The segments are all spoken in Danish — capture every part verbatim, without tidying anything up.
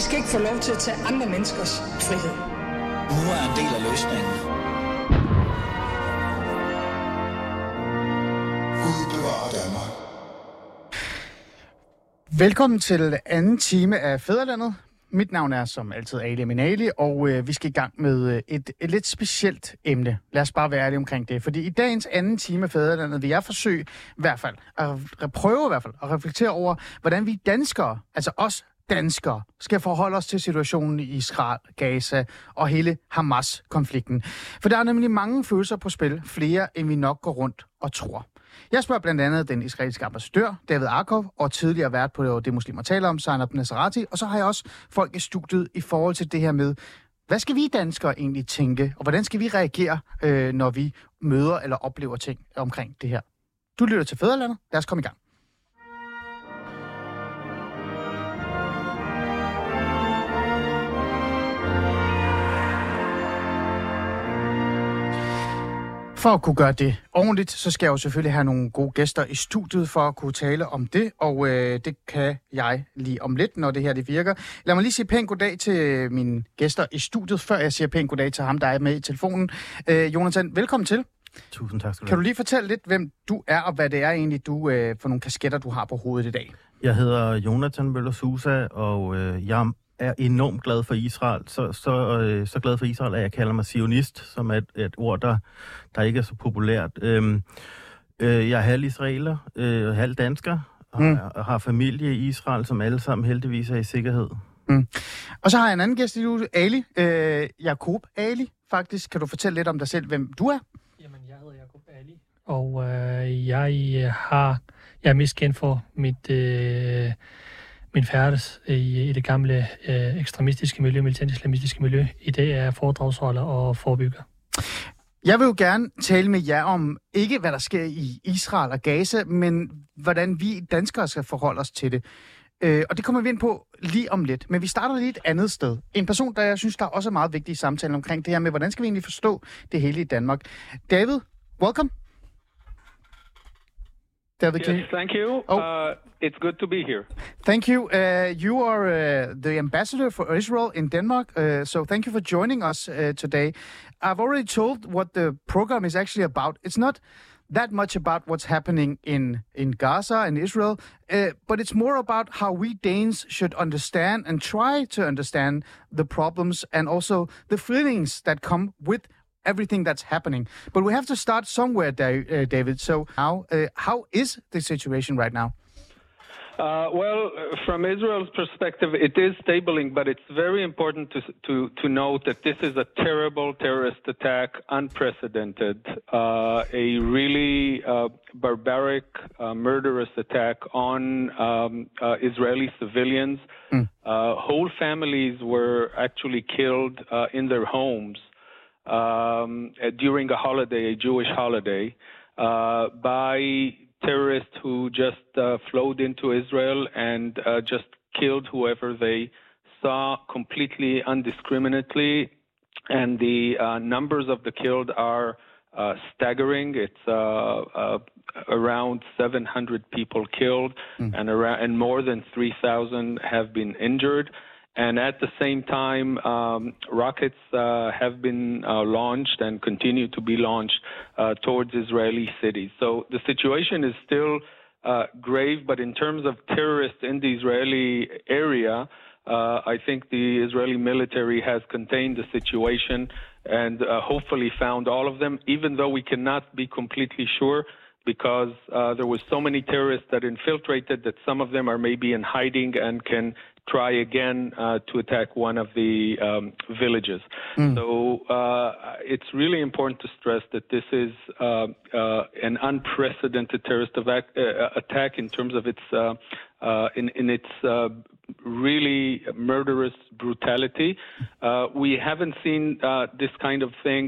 skal ikke få lov til at tage andre menneskers frihed. Nu er en del af løsningen. Gud bevarer Danmark. Velkommen til anden time af Fædrelandet. Mit navn er som altid Ali Aminali, og øh, vi skal i gang med et, et lidt specielt emne. Lad os bare være ærlige omkring det. Fordi i dagens anden time af Fædrelandet vil jeg forsøge i hvert fald, at, at prøve i hvert fald, at reflektere over, hvordan vi danskere, altså os danskere, skal forholde os til situationen i Israel, Gaza og hele Hamas-konflikten. For der er nemlig mange følelser på spil, flere end vi nok går rundt og tror. Jeg spørger blandt andet den israelske ambassadør, David Arkov, og tidligere vært på det muslimer taler om, Zainab Nasrati, og så har jeg også folk i studiet i forhold til det her med, hvad skal vi danskere egentlig tænke, og hvordan skal vi reagere, øh, når vi møder eller oplever ting omkring det her. Du lytter til Fædrelandet. Lad os komme i gang. For at kunne gøre det ordentligt, så skal jeg jo selvfølgelig have nogle gode gæster i studiet for at kunne tale om det, og øh, det kan jeg lige om lidt, når det her det virker. Lad mig lige sige pænt goddag til mine gæster i studiet, før jeg siger pænt goddag til ham, der er med i telefonen. Øh, Jonathan, velkommen til. Tusind tak skal du Kan du lige fortælle lidt, hvem du er, og hvad det er egentlig, du øh, for nogle kasketter, du har på hovedet i dag? Jeg hedder Jonathan Møller Sousa, og øh, jeg er enormt glad for Israel. Så, så, øh, så glad for Israel, at jeg kalder mig zionist, som er et, et ord, der, der ikke er så populært. Øhm, øh, jeg er halv israeler, øh, halv dansker, og mm. har, har familie i Israel, som alle sammen heldigvis er i sikkerhed. Mm. Og så har jeg en anden gæst i studiet, Ali. Øh, Jakob Ali, faktisk. Kan du fortælle lidt om dig selv, hvem du er? Jamen, jeg hedder Jakob Ali, og øh, jeg har jeg er mest kendt for mit... Øh, min færdes i, i det gamle øh, ekstremistiske miljø, militant-islamistiske miljø. I dag er jeg foredragsholder og forebygger. Jeg vil jo gerne tale med jer om, ikke hvad der sker i Israel og Gaza, men hvordan vi danskere skal forholde os til det. Øh, og det kommer vi ind på lige om lidt. Men vi starter lige et andet sted. En person, der jeg synes, der er også meget vigtig i samtalen omkring det her med, hvordan skal vi egentlig forstå det hele i Danmark. David, welcome. David, yes, thank you. Oh. Uh, it's good to be here. Thank you. Uh, you are uh, the ambassador for Israel in Denmark, uh, so thank you for joining us uh, today. I've already told what the program is actually about. It's not that much about what's happening in, in Gaza and Israel, uh, but it's more about how we Danes should understand and try to understand the problems and also the feelings that come with everything that's happening. But we have to start somewhere, uh, David. So how, uh, how is the situation right now? Uh, well, from Israel's perspective, it is stabling, but it's very important to to, to note that this is a terrible terrorist attack, unprecedented, uh, a really uh, barbaric, uh, murderous attack on um, uh, Israeli civilians. Mm. Uh, whole families were actually killed uh, in their homes um, during a holiday, a Jewish holiday, uh, by terrorists who just uh, flowed into Israel and uh, just killed whoever they saw completely indiscriminately. And the uh, numbers of the killed are uh, staggering. It's uh, uh, around seven hundred people killed, mm. and, around, and more than three thousand have been injured. And at the same time, um, rockets uh, have been uh, launched and continue to be launched uh, towards Israeli cities. So the situation is still uh, grave, but in terms of terrorists in the Israeli area, uh, I think the Israeli military has contained the situation and uh, hopefully found all of them, even though we cannot be completely sure, because uh, there was so many terrorists that infiltrated that some of them are maybe in hiding and can try again uh, to attack one of the um, villages. Mm. So uh, it's really important to stress that this is uh, uh, an unprecedented terrorist attack, uh, attack in terms of its uh, uh, in, in its uh, really murderous brutality. Uh, we haven't seen uh, this kind of thing,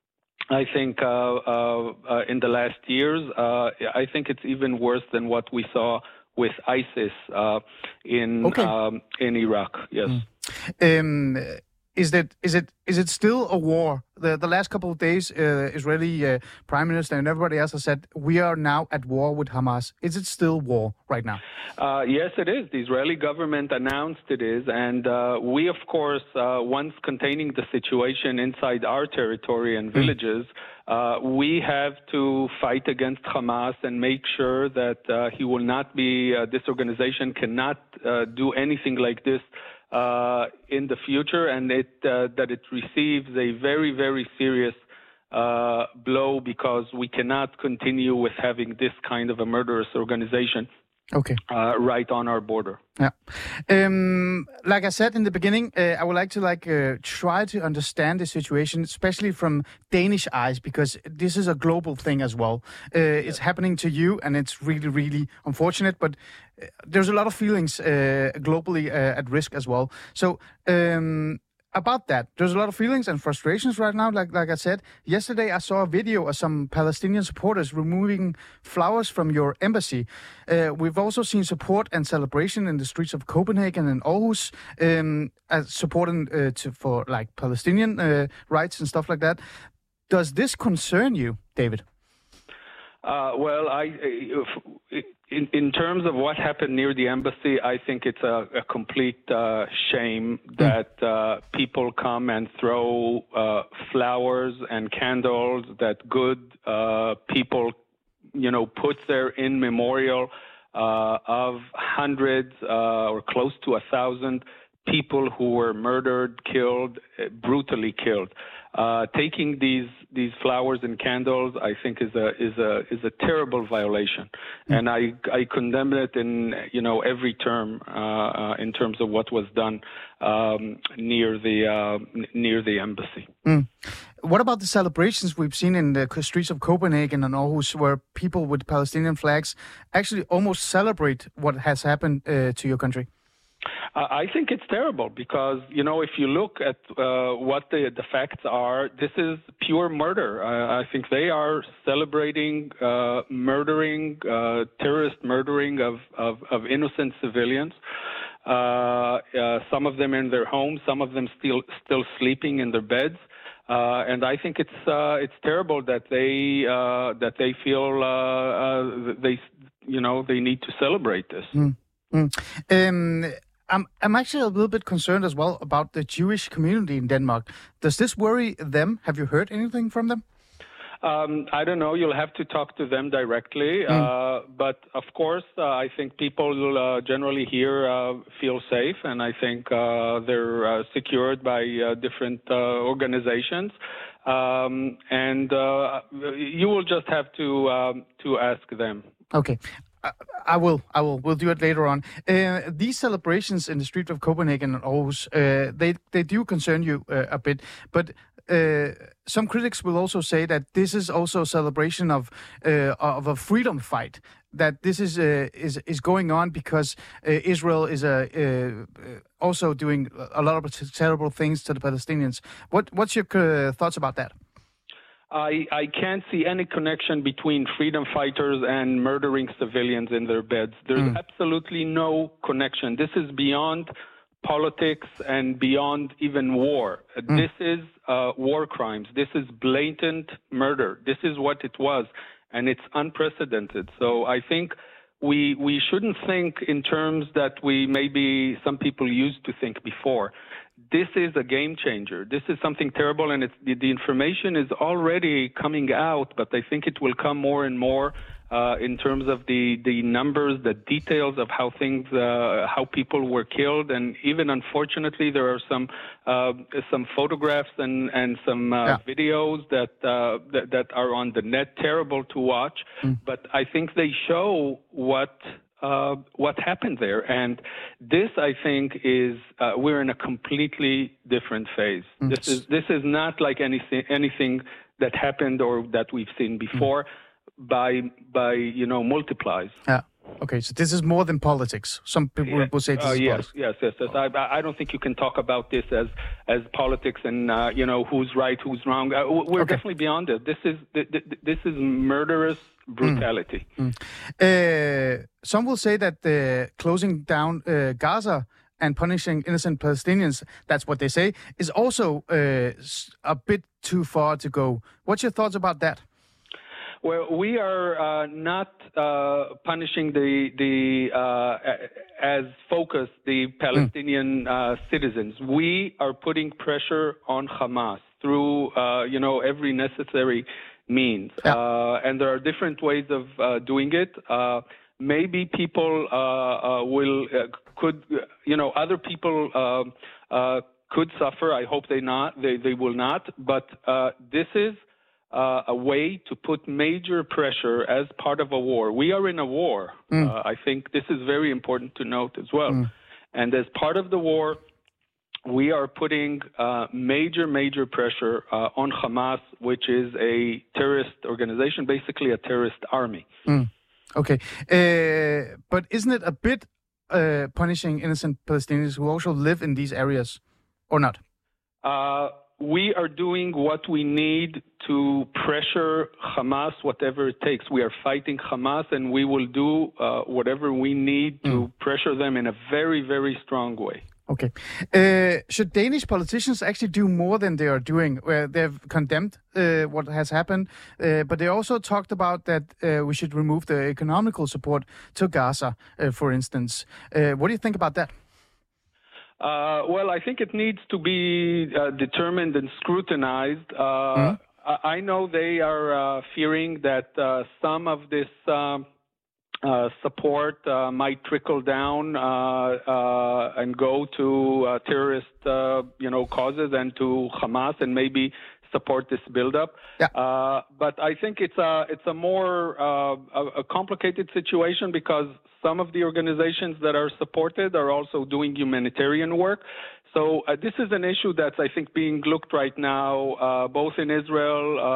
I think, uh, uh, uh, in the last years. Uh, I think it's even worse than what we saw with ISIS uh, in okay. um, in Iraq. Yes. Mm. Um, is that is it is it still a war the, the last couple of days, uh, Israeli uh, Prime Minister and everybody else has said, we are now at war with Hamas. Is it still war right now? Uh, yes, it is. The Israeli government announced it is. And uh, we, of course, uh, once containing the situation inside our territory and villages, uh, we have to fight against Hamas and make sure that uh, he will not be, uh, this organization cannot uh, do anything like this uh, in the future, and it, uh, that it receives a very, very serious uh, blow, because we cannot continue with having this kind of a murderous organization Okay. uh, right on our border. Yeah. Um, like I said in the beginning, uh, I would like to like uh, try to understand the situation, especially from Danish eyes, because this is a global thing as well. Uh, it's happening to you, and it's really, really unfortunate. But uh, there's a lot of feelings uh, globally uh, at risk as well. So. Um, About that, there's a lot of feelings and frustrations right now. Like like I said, yesterday I saw a video of some Palestinian supporters removing flowers from your embassy. Uh, we've also seen support and celebration in the streets of Copenhagen and Aarhus, um, as supporting uh, to, for like Palestinian uh, rights and stuff like that. Does this concern you, David? Uh, well, I, in, in terms of what happened near the embassy, I think it's a, a complete uh, shame that uh, people come and throw uh, flowers and candles that good uh, people, you know, put there in memorial uh, of hundreds uh, or close to a thousand people who were murdered, killed, brutally killed. Uh, taking these these flowers and candles, I think, is a is a is a terrible violation, mm. and I I condemn it in you know every term uh, uh, in terms of what was done um, near the uh, n- near the embassy. Mm. What about the celebrations we've seen in the streets of Copenhagen and Aarhus, where people with Palestinian flags actually almost celebrate what has happened uh, to your country? I think it's terrible because, you know, if you look at uh, what the, the facts are, this is pure murder. I, I think they are celebrating uh, murdering, uh, terrorist murdering of, of, of innocent civilians. Uh, uh, some of them in their homes, some of them still still sleeping in their beds. Uh, and I think it's uh, it's terrible that they uh, that they feel uh, uh, they you know they need to celebrate this. Mm. Mm. Um, I'm I'm actually a little bit concerned as well about the Jewish community in Denmark. Does this worry them? Have you heard anything from them? Um, I don't know. You'll have to talk to them directly. Mm. Uh, but of course, uh, I think people uh, generally here uh, feel safe, and I think uh, they're uh, secured by uh, different uh, organizations. Um, and uh, you will just have to um, to ask them. Okay. I will. I will. We'll do it later on. Uh, these celebrations in the street of Copenhagen and Aarhus, uh, they they do concern you uh, a bit. But uh, some critics will also say that this is also a celebration of uh, of a freedom fight. That this is uh, is is going on because uh, Israel is uh, uh, also doing a lot of terrible things to the Palestinians. What what's your uh, thoughts about that? I, I can't see any connection between freedom fighters and murdering civilians in their beds. There's mm. absolutely no connection. This is beyond politics and beyond even war. Mm. This is uh, war crimes. This is blatant murder. This is what it was, and it's unprecedented. So I think we we shouldn't think in terms that we maybe some people used to think before. This is a game changer. This is something terrible, and it's, the, the information is already coming out, but I think it will come more and more uh, in terms of the, the numbers, the details of how things, uh, how people were killed, and even unfortunately, there are some uh, some photographs and and some uh, yeah. videos that, uh, that that are on the net, terrible to watch. Mm. But I think they show what. Uh, what happened there, and this, I think, is uh, we're in a completely different phase. Mm. This is this is not like anything anything that happened or that we've seen before. Mm. By by you know multiplies. Yeah. Okay, so this is more than politics. Some people yeah. will say this uh, is yes, politics. yes, yes, yes. I, I don't think you can talk about this as as politics and uh, you know who's right, who's wrong. Uh, we're okay. definitely beyond it. This is this is murderous brutality. Mm. Mm. Uh, some will say that the closing down uh, Gaza and punishing innocent Palestinians, that's what they say, is also uh, a bit too far to go. What's your thoughts about that? Well, we are uh, not uh, punishing the the uh, as focused the Palestinian mm. uh, citizens. We are putting pressure on Hamas through uh, you know every necessary means, yeah. uh, and there are different ways of uh, doing it. Uh, maybe people uh, uh, will uh, could you know other people uh, uh, could suffer. I hope they not they they will not. But uh, this is. Uh, a way to put major pressure as part of a war. We are in a war. Mm. Uh, I think this is very important to note as well. Mm. And as part of the war, we are putting uh, major, major pressure uh, on Hamas, which is a terrorist organization, basically a terrorist army. Mm. Okay. Uh, but isn't it a bit uh, punishing innocent Palestinians who also live in these areas, or not? Uh, We are doing what we need to pressure Hamas, whatever it takes. We are fighting Hamas, and we will do uh, whatever we need to mm. pressure them in a very, very strong way. Okay. Uh, should Danish politicians actually do more than they are doing? Where they've condemned uh, what has happened, uh, but they also talked about that uh, we should remove the economical support to Gaza, uh, for instance. Uh, what do you think about that? Uh, well, I think it needs to be uh, determined and scrutinized. Uh, mm-hmm. I know they are uh, fearing that uh, some of this uh, uh, support uh, might trickle down uh, uh, and go to uh, terrorist, uh, you know, causes and to Hamas, and maybe support this buildup. Yeah. Uh, but I think it's a it's a more uh, a, a complicated situation because some of the organizations that are supported are also doing humanitarian work. So uh, this is an issue that's, I think, being looked right now, uh, both in Israel uh,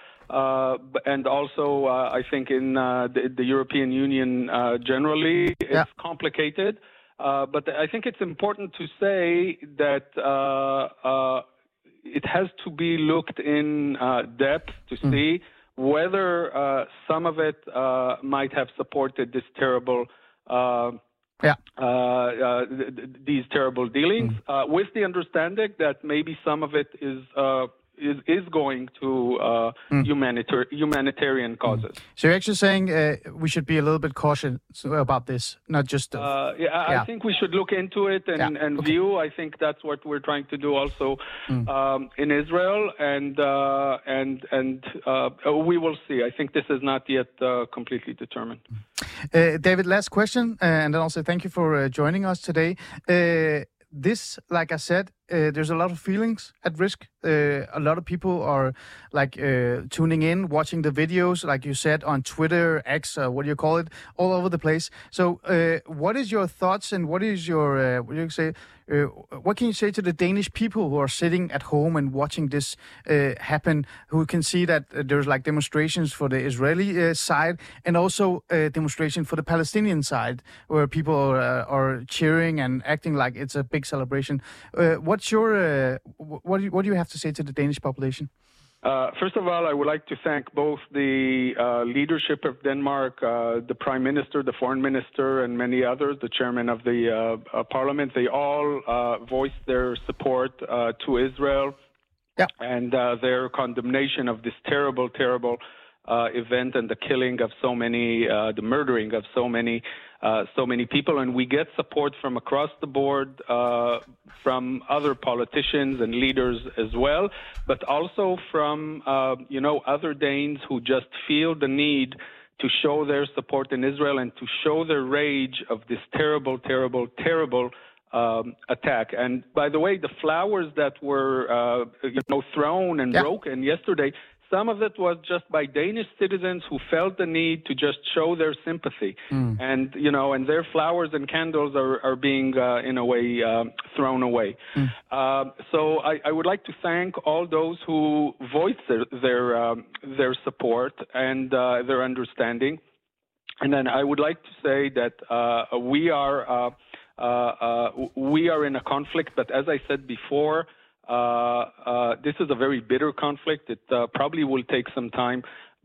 uh, and also, uh, I think, in uh, the, the European Union uh, generally. It's yeah. complicated. Uh, but I think it's important to say that uh, uh, it has to be looked in uh, depth to mm. see whether uh, some of it uh, might have supported this terrible, uh, yeah. uh, uh, th- th- these terrible dealings, mm. uh, with the understanding that maybe some of it is uh, is is going to uh, mm. humanitar- humanitarian causes. Mm. So you're actually saying uh, we should be a little bit cautious about this, not just. Uh, uh, yeah, I yeah. think we should look into it and, yeah. and okay. view. I think that's what we're trying to do also mm. um, in Israel, and uh, and and uh, we will see. I think this is not yet uh, completely determined. Uh, David, last question, uh, and then I'll say thank you for uh, joining us today. Uh, This, like I said, uh, there's a lot of feelings at risk. Uh, a lot of people are like uh, tuning in, watching the videos, like you said, on Twitter, X, uh, what do you call it, all over the place. So uh, what is your thoughts and what is your, uh, what do you say, uh, what can you say to the Danish people who are sitting at home and watching this uh, happen, who can see that uh, there's like demonstrations for the Israeli uh, side and also uh, demonstration for the Palestinian side, where people are, uh, are cheering and acting like it's a big celebration. Uh, what's your, uh, what, do you, what do you have to say to the Danish population? Uh, first of all, I would like to thank both the uh, leadership of Denmark, uh, the Prime Minister, the Foreign Minister, and many others, the Chairman of the uh, uh, Parliament. They all uh, voiced their support uh, to Israel yeah. and uh, their condemnation of this terrible, terrible uh, event and the killing of so many, uh, the murdering of so many Uh, so many people, and we get support from across the board, uh, from other politicians and leaders as well, but also from, uh, you know, other Danes who just feel the need to show their support in Israel and to show their rage of this terrible, terrible, terrible um, attack. And by the way, the flowers that were, uh, you know, thrown and yeah. broken yesterday, some of it was just by Danish citizens who felt the need to just show their sympathy. Mm. And, you know, and their flowers and candles are, are being, uh, in a way, uh, thrown away. Mm. Uh, so I, I would like to thank all those who voiced their their, um, their support and uh, their understanding. And then I would like to say that uh, we are uh, uh, uh, we are in a conflict, but as I said before, Uh, uh, this is a very bitter conflict. It uh, probably will take some time,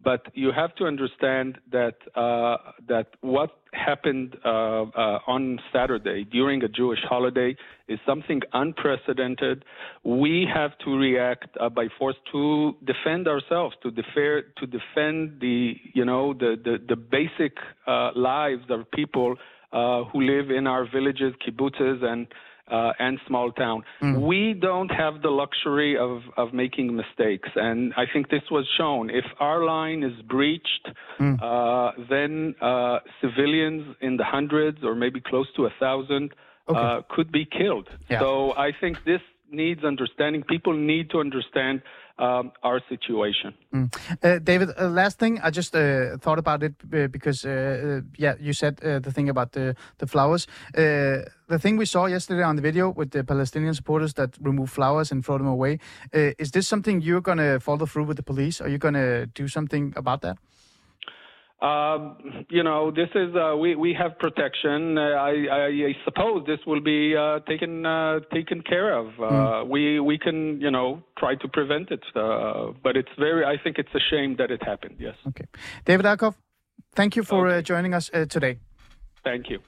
but you have to understand that uh, that what happened uh, uh, on Saturday during a Jewish holiday is something unprecedented. We have to react uh, by force to defend ourselves, to defer, to defend the you know the the, the basic uh, lives of people uh, who live in our villages, kibbutzes, and Uh, and small town. Mm. We don't have the luxury of, of making mistakes, and I think this was shown. If our line is breached, mm. uh, then uh, civilians in the hundreds or maybe close to a thousand okay. uh, could be killed. Yeah. So I think this needs understanding. People need to understand um, our situation. Mm. Uh, David, uh, last thing, I just uh, thought about it uh, because, uh, uh, yeah, you said uh, the thing about the, the flowers. Uh, the thing we saw yesterday on the video with the Palestinian supporters that remove flowers and throw them away, uh, is this something you're going to follow through with the police? Are you going to do something about that? Um, you know, this is uh, we we have protection. Uh, I, I, I suppose this will be uh, taken uh, taken care of. Uh, mm. We we can you know try to prevent it, uh, but it's very. I think it's a shame that it happened. Yes. Okay, David Arkoff, thank you for okay. uh, joining us uh, today. Thank you.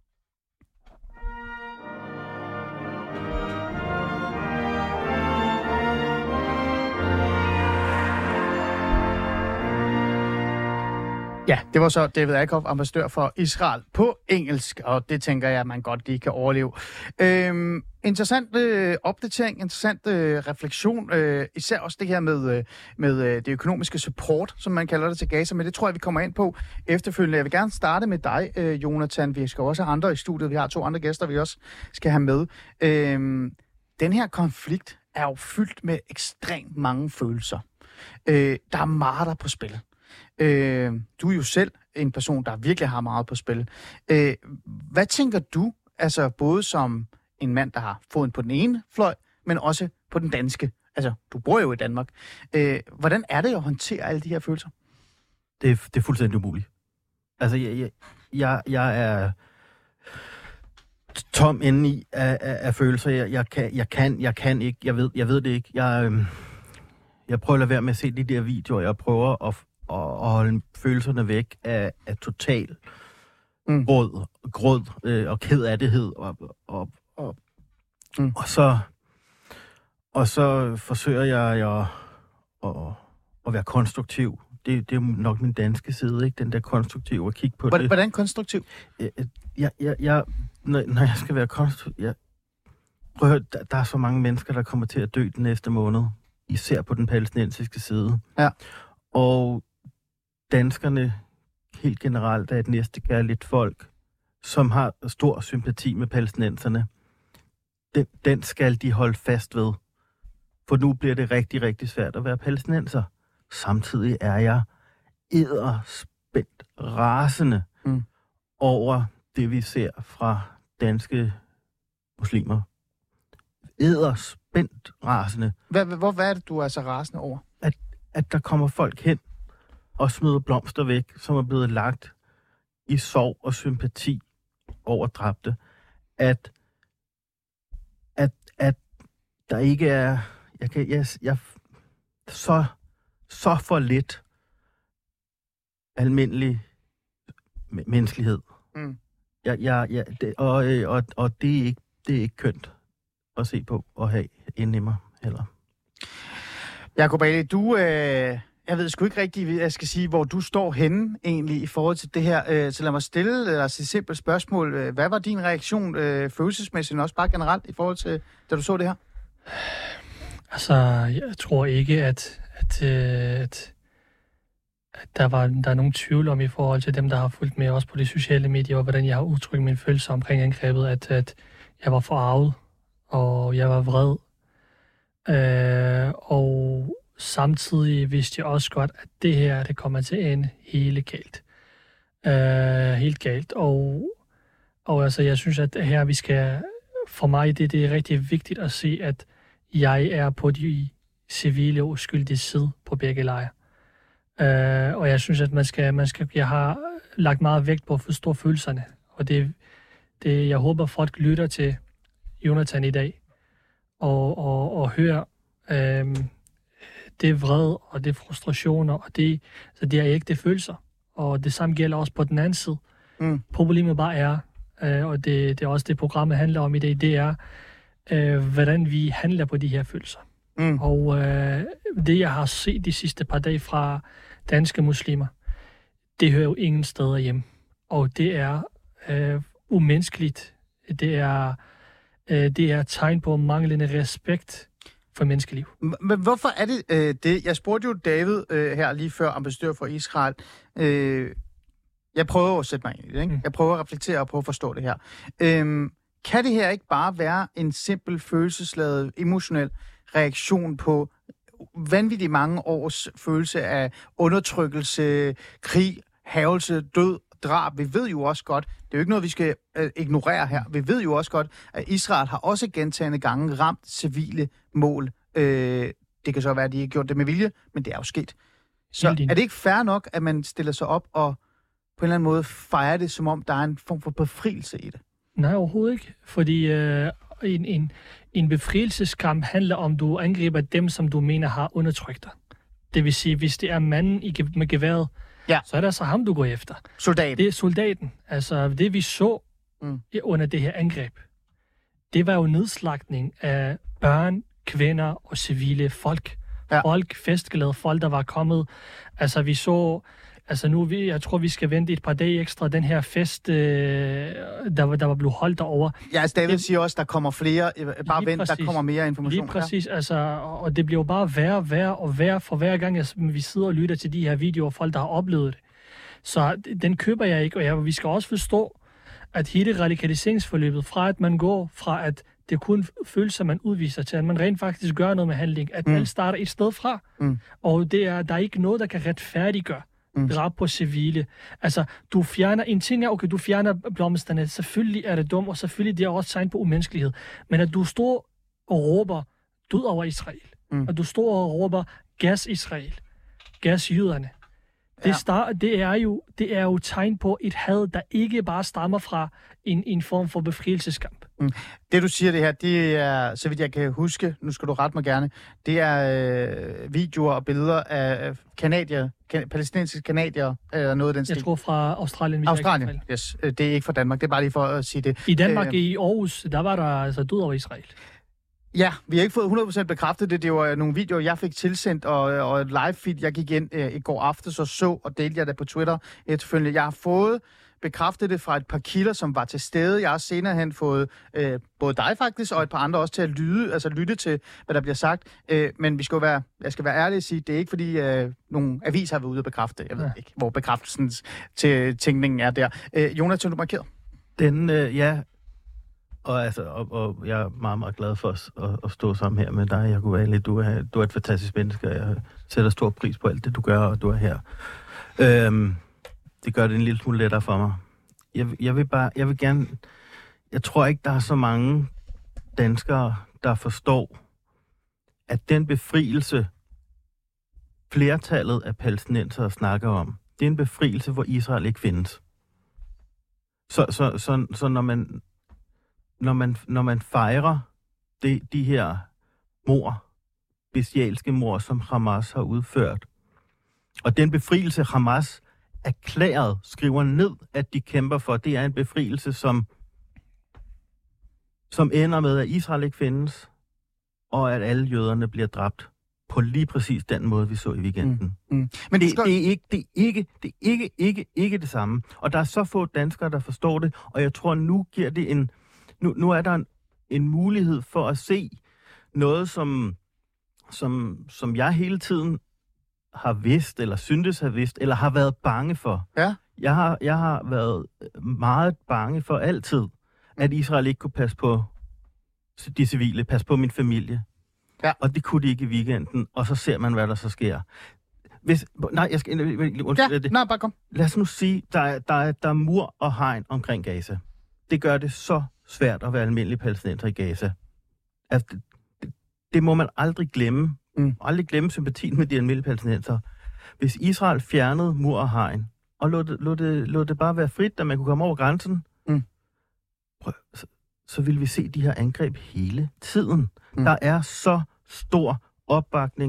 Ja, det var så David Arkoff, ambassadør for Israel på engelsk, og det tænker jeg, at man godt lige kan overleve. Øhm, interessant øh, opdatering, interessant øh, refleksion, øh, især også det her med, øh, med øh, det økonomiske support, som man kalder det til Gaza, men det tror jeg, vi kommer ind på efterfølgende. Jeg vil gerne starte med dig, øh, Jonathan. Vi skal også have andre i studiet. Vi har to andre gæster, vi også skal have med. Øhm, den her konflikt er jo fyldt med ekstremt mange følelser. Øh, der er meget der på spil. Øh, du er jo selv en person, der virkelig har meget på spil. Øh, hvad tænker du, altså både som en mand, der har foden på den ene fløj, men også på den danske? Altså, du bor jo i Danmark. Øh, hvordan er det at håndtere alle de her følelser? Det er, det er fuldstændig umuligt. Altså, jeg, jeg, jeg, jeg er tom indeni af, af, af følelser. Jeg, jeg, kan, jeg, kan, jeg kan ikke. Jeg ved, jeg ved det ikke. Jeg, øh, jeg prøver at lade være med at se de der videoer. Jeg prøver at og, og holde følelserne væk af, af total mm. gråd, gråd øh, og kedattighed og, og, og, mm. og så og så forsøger jeg at, at, at være konstruktiv. Det, det er nok min danske side, ikke? Den der konstruktiv, at kigge på hvordan, det. Hvordan konstruktiv? Jeg, jeg, jeg, jeg, når, når jeg skal være konstruktiv... Jeg, prøv at høre, der, der er så mange mennesker, der kommer til at dø den næste måned. Især på den palæstinensiske side. Ja. Og danskerne helt generelt er et næstekærligt folk, som har stor sympati med palæstinenserne. Den, den skal de holde fast ved. For nu bliver det rigtig, rigtig svært at være palæstinenser. Samtidig er jeg edderspændt rasende mm. over det, vi ser fra danske muslimer. Edderspændt rasende. Hvad, hvor, hvad er det, du er så rasende over? At, at der kommer folk hen og smider blomster væk, som er blevet lagt i sorg og sympati over dræbte. At, at, at der ikke er... Jeg kan, jeg, jeg, så, så for lidt almindelig menneskelighed. Mm. Jeg, jeg, jeg, det, og, og, og det, er ikke, det er ikke kønt at se på og have inde i mig heller. Jacob Ali, du... Øh... Jeg ved sgu ikke rigtigt, jeg skal sige, hvor du står henne egentlig i forhold til det her. Så lad mig stille dig et simpelt spørgsmål. Hvad var din reaktion følelsesmæssigt, og også bare generelt i forhold til, da du så det her? Altså, jeg tror ikke, at, at, at, at der, var, der er nogen tvivl om i forhold til dem, der har fulgt med også på de sociale medier, og hvordan jeg har udtrykt mine følelser omkring angrebet, at, at jeg var forarvet, og jeg var vred. Øh, og samtidig vidste jeg også godt, at det her, det kommer til at ende helt galt. Uh, helt galt. Og, og altså, jeg synes, at her vi skal, for mig, det, det er rigtig vigtigt at se, at jeg er på de civile og uskyldige side på begge lejre. Uh, og jeg synes, at man skal, man skal, jeg har lagt meget vægt på at forstå følelserne. Og det, det, jeg håber, folk lytter til Jonathan i dag og, og, og hører um, det er vrede, og det er frustrationer, og det, så det er ikke det følelser. Og det samme gælder også på den anden side. Mm. Problemet bare er, øh, og det, det er også det, programmet handler om i dag, det er, øh, hvordan vi handler på de her følelser. Mm. Og øh, det, jeg har set de sidste par dage fra danske muslimer, det hører jo ingen steder hjem. Og det er øh, umenneskeligt. Det er, øh, det er tegn på manglende respekt for menneskeliv. Men hvorfor er det øh, det? Jeg spurgte jo David øh, her lige før, ambassadør for Israel. Øh, jeg prøver at sætte mig ind i det, ikke? Mm. Jeg prøver at reflektere og prøve at forstå det her. Øh, kan det her ikke bare være en simpel følelsesladet, emotionel reaktion på vanvittigt mange års følelse af undertrykkelse, krig, hærgelse, død, drab? Vi ved jo også godt, det er jo ikke noget, vi skal øh, ignorere her, vi ved jo også godt, at Israel har også gentagne gange ramt civile mål. Øh, det kan så være, at de ikke har gjort det med vilje, men det er jo sket. Så er det ikke fair nok, at man stiller sig op og på en eller anden måde fejrer det, som om der er en form for befrielse i det? Nej, overhovedet ikke. Fordi øh, en, en, en befrielseskamp handler om, du angriber dem, som du mener har undertrykt dig. Det vil sige, hvis det er manden i, med geværet, ja, så er det altså ham, du går efter. Soldaten. Det er soldaten. Altså, det vi så mm. under det her angreb, det var jo nedslagtning af børn, kvinder og civile folk. Ja. Folk, festglade folk, der var kommet. Altså, vi så... Altså nu, vi, jeg tror, vi skal vente et par dage ekstra, den her fest, øh, der, der var blevet holdt derovre. Ja, altså David det, siger også, der kommer flere, bare vent, præcis, der kommer mere information. Lige præcis, ja. Altså, og det bliver jo bare værre, værre og værre for hver gang, altså, vi sidder og lytter til de her videoer, folk, der har oplevet det. Så den køber jeg ikke, og jeg, vi skal også forstå, at hele radikaliseringsforløbet, fra at man går fra, at det kun følelser, man udviser til, at man rent faktisk gør noget med handling, at mm. alt starter et sted fra, mm. og det er, der er ikke noget, der kan retfærdiggøre Mm. drab på civile. Altså, du fjerner... En ting er, okay, du fjerner blomsterne. Selvfølgelig er det dumt, og selvfølgelig det er også tegn på umenneskelighed. Men at du står og råber død over Israel, mm. at du står og råber gas Israel, gas jøderne, det, ja. start, det, er jo, det er jo tegn på et had, der ikke bare stammer fra en, en form for befrielseskamp. Mm. Det, du siger det her, det er, så vidt jeg kan huske, nu skal du rette mig gerne, det er øh, videoer og billeder af kanadier, kan, palæstinensiske kanadier, eller noget af den stil. Jeg tror fra Australien. Australien, yes. Det er ikke fra Danmark, det er bare lige for at sige det. I Danmark, øh, i Aarhus, der var der altså død over Israel. Ja, vi har ikke fået hundrede procent bekræftet det. Det var nogle videoer, jeg fik tilsendt, og, og et live feed, jeg gik ind øh, i går aftes og så, og delte jeg det på Twitter efterfølgende. Jeg har fået bekræftet det fra et par kilder, som var til stede. Jeg har senere hen fået øh, både dig faktisk, og et par andre også til at lytte, altså lytte til, hvad der bliver sagt. Øh, men vi skal jo være, jeg skal være ærlig og sige, det er ikke fordi, øh, nogle aviser har været ude og bekræfte det. Jeg ved ja. ikke, hvor bekræftelsen til tænkningen er der. Øh, Jonathan, du markeret? Den, øh, ja... Og, altså, og, og jeg er meget, meget glad for at, at, at stå sammen her med dig, Jacob Ali. Du er, du er et fantastisk menneske, og jeg sætter stor pris på alt det, du gør, og du er her. Øhm, det gør det en lille smule lettere for mig. Jeg, jeg vil bare, jeg vil gerne... Jeg tror ikke, der er så mange danskere, der forstår, at den befrielse, flertallet af palæstinensere snakker om, det er en befrielse, hvor Israel ikke findes. Så, så, så, så når man... Når man, når man fejrer de, de her mord, bestialske mord, som Hamas har udført, og den befrielse, Hamas erklæret skriver ned, at de kæmper for, det er en befrielse, som, som ender med, at Israel ikke findes, og at alle jøderne bliver dræbt på lige præcis den måde, vi så i weekenden. Mm. Mm. Men det, det, er ikke, det er ikke, det er ikke, ikke, ikke det samme. Og der er så få danskere, der forstår det, og jeg tror, nu giver det en... Nu, nu er der en, en mulighed for at se noget, som, som, som jeg hele tiden har vidst, eller syntes har vidst, eller har været bange for. Ja. Jeg har, jeg har været meget bange for altid, at Israel ikke kunne passe på de civile, passe på min familie. Ja. Og det kunne de ikke i weekenden, og så ser man, hvad der så sker. Hvis, nej, jeg skal... Undskyld, ja, det. nej, bare kom. Lad os nu sige, der er, der, er, der er mur og hegn omkring Gaza. Det gør det så svært at være almindelig palæstinenser i Gaza. Altså, det, det, det må man aldrig glemme. Mm. Aldrig glemme sympatien med de almindelige palæstinenser. Hvis Israel fjernede mur og hegn, og lod det, lod det, lod det bare være frit, da man kunne komme over grænsen, mm. prøv, så, så ville vi se de her angreb hele tiden. Mm. Der er så stor opbakning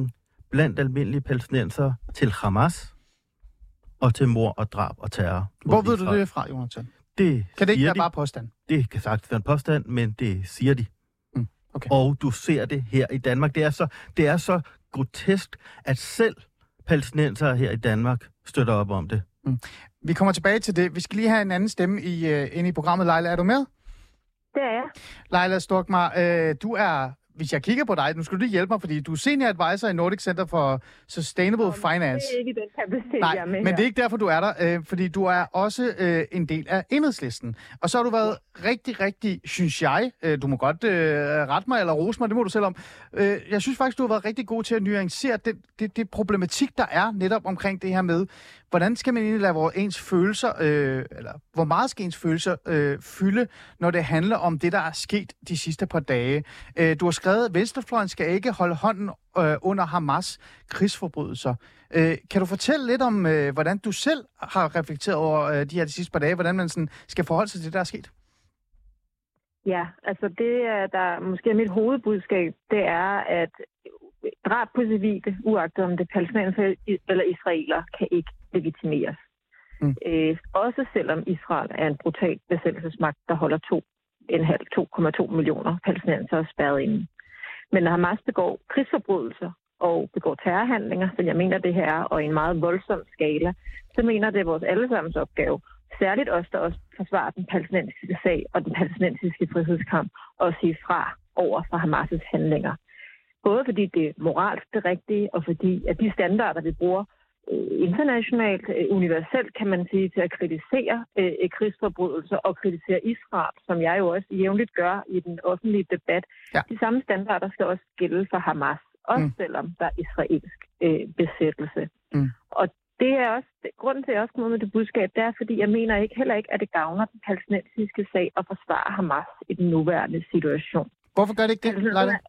blandt almindelige palæstinenser til Hamas og til mord og drab og terror. Hvor ved du det fra, Jonathan? Det kan det ikke være de. bare påstand? Det kan sagtens være en påstand, men det siger de. Mm, okay. Og du ser det her i Danmark. Det er så, det er så grotesk, at selv palæstinenser her i Danmark støtter op om det. Mm. Vi kommer tilbage til det. Vi skal lige have en anden stemme i, uh, inde i programmet. Leila, er du med? Det er jeg. Leila Storkmar, øh, du er, hvis jeg kigger på dig, nu skal du lige hjælpe mig, fordi du er senior advisor i Nordic Center for Sustainable Nå, Finance. Det er ikke den kapacitet, Nej, jeg er med men her. det er ikke derfor, du er der, øh, fordi du er også øh, en del af Enhedslisten. Og så har du været rigtig, rigtig, synes jeg, øh, du må godt øh, rette mig eller rose mig, det må du selv om. Øh, jeg synes faktisk, du har været rigtig god til at nuancere det, det, det problematik, der er netop omkring det her med, hvordan skal man egentlig lade vores ens følelser, øh, eller hvor meget skal ens følelser øh, fylde, når det handler om det, der er sket de sidste par dage. Øh, du har skrevet, at venstrefløjen skal ikke holde hånden øh, under Hamas krigsforbrydelser. Øh, kan du fortælle lidt om, øh, hvordan du selv har reflekteret over øh, de her de sidste par dage, hvordan man sådan skal forholde sig til det, der er sket? Ja, altså det, der måske er mit hovedbudskab, det er, at drab på civile, uagtet om det palæstinenser eller israeler, kan ikke legitimeres. Mm. Øh, også selvom Israel er en brutal besættelsesmagt, der holder to komma to millioner palæstinenser spærret inde. Men når Hamas begår krigsforbrydelser og begår terrorhandlinger, som jeg mener det her er, og i en meget voldsom skala, så mener det er vores allesammens opgave, særligt os, der også forsvarer den palæstinensiske sag og den palæstinensiske frihedskamp, og sige fra over for Hamas' handlinger. Både fordi det er moralsk det rigtige, og fordi at de standarder, vi bruger øh, internationalt, øh, universelt, kan man sige, til at kritisere øh, krigsforbrydelser og kritisere Israel, som jeg jo også jævnligt gør i den offentlige debat. Ja. De samme standarder skal også gælde for Hamas, også mm. selvom der er israelsk øh, besættelse. Mm. Og det er også, grunden til, at jeg også kommer med det budskab, det er, fordi jeg mener ikke heller ikke, at det gavner den palæstinensiske sag at forsvare Hamas i den nuværende situation. Hvorfor gør det ikke det, Leila?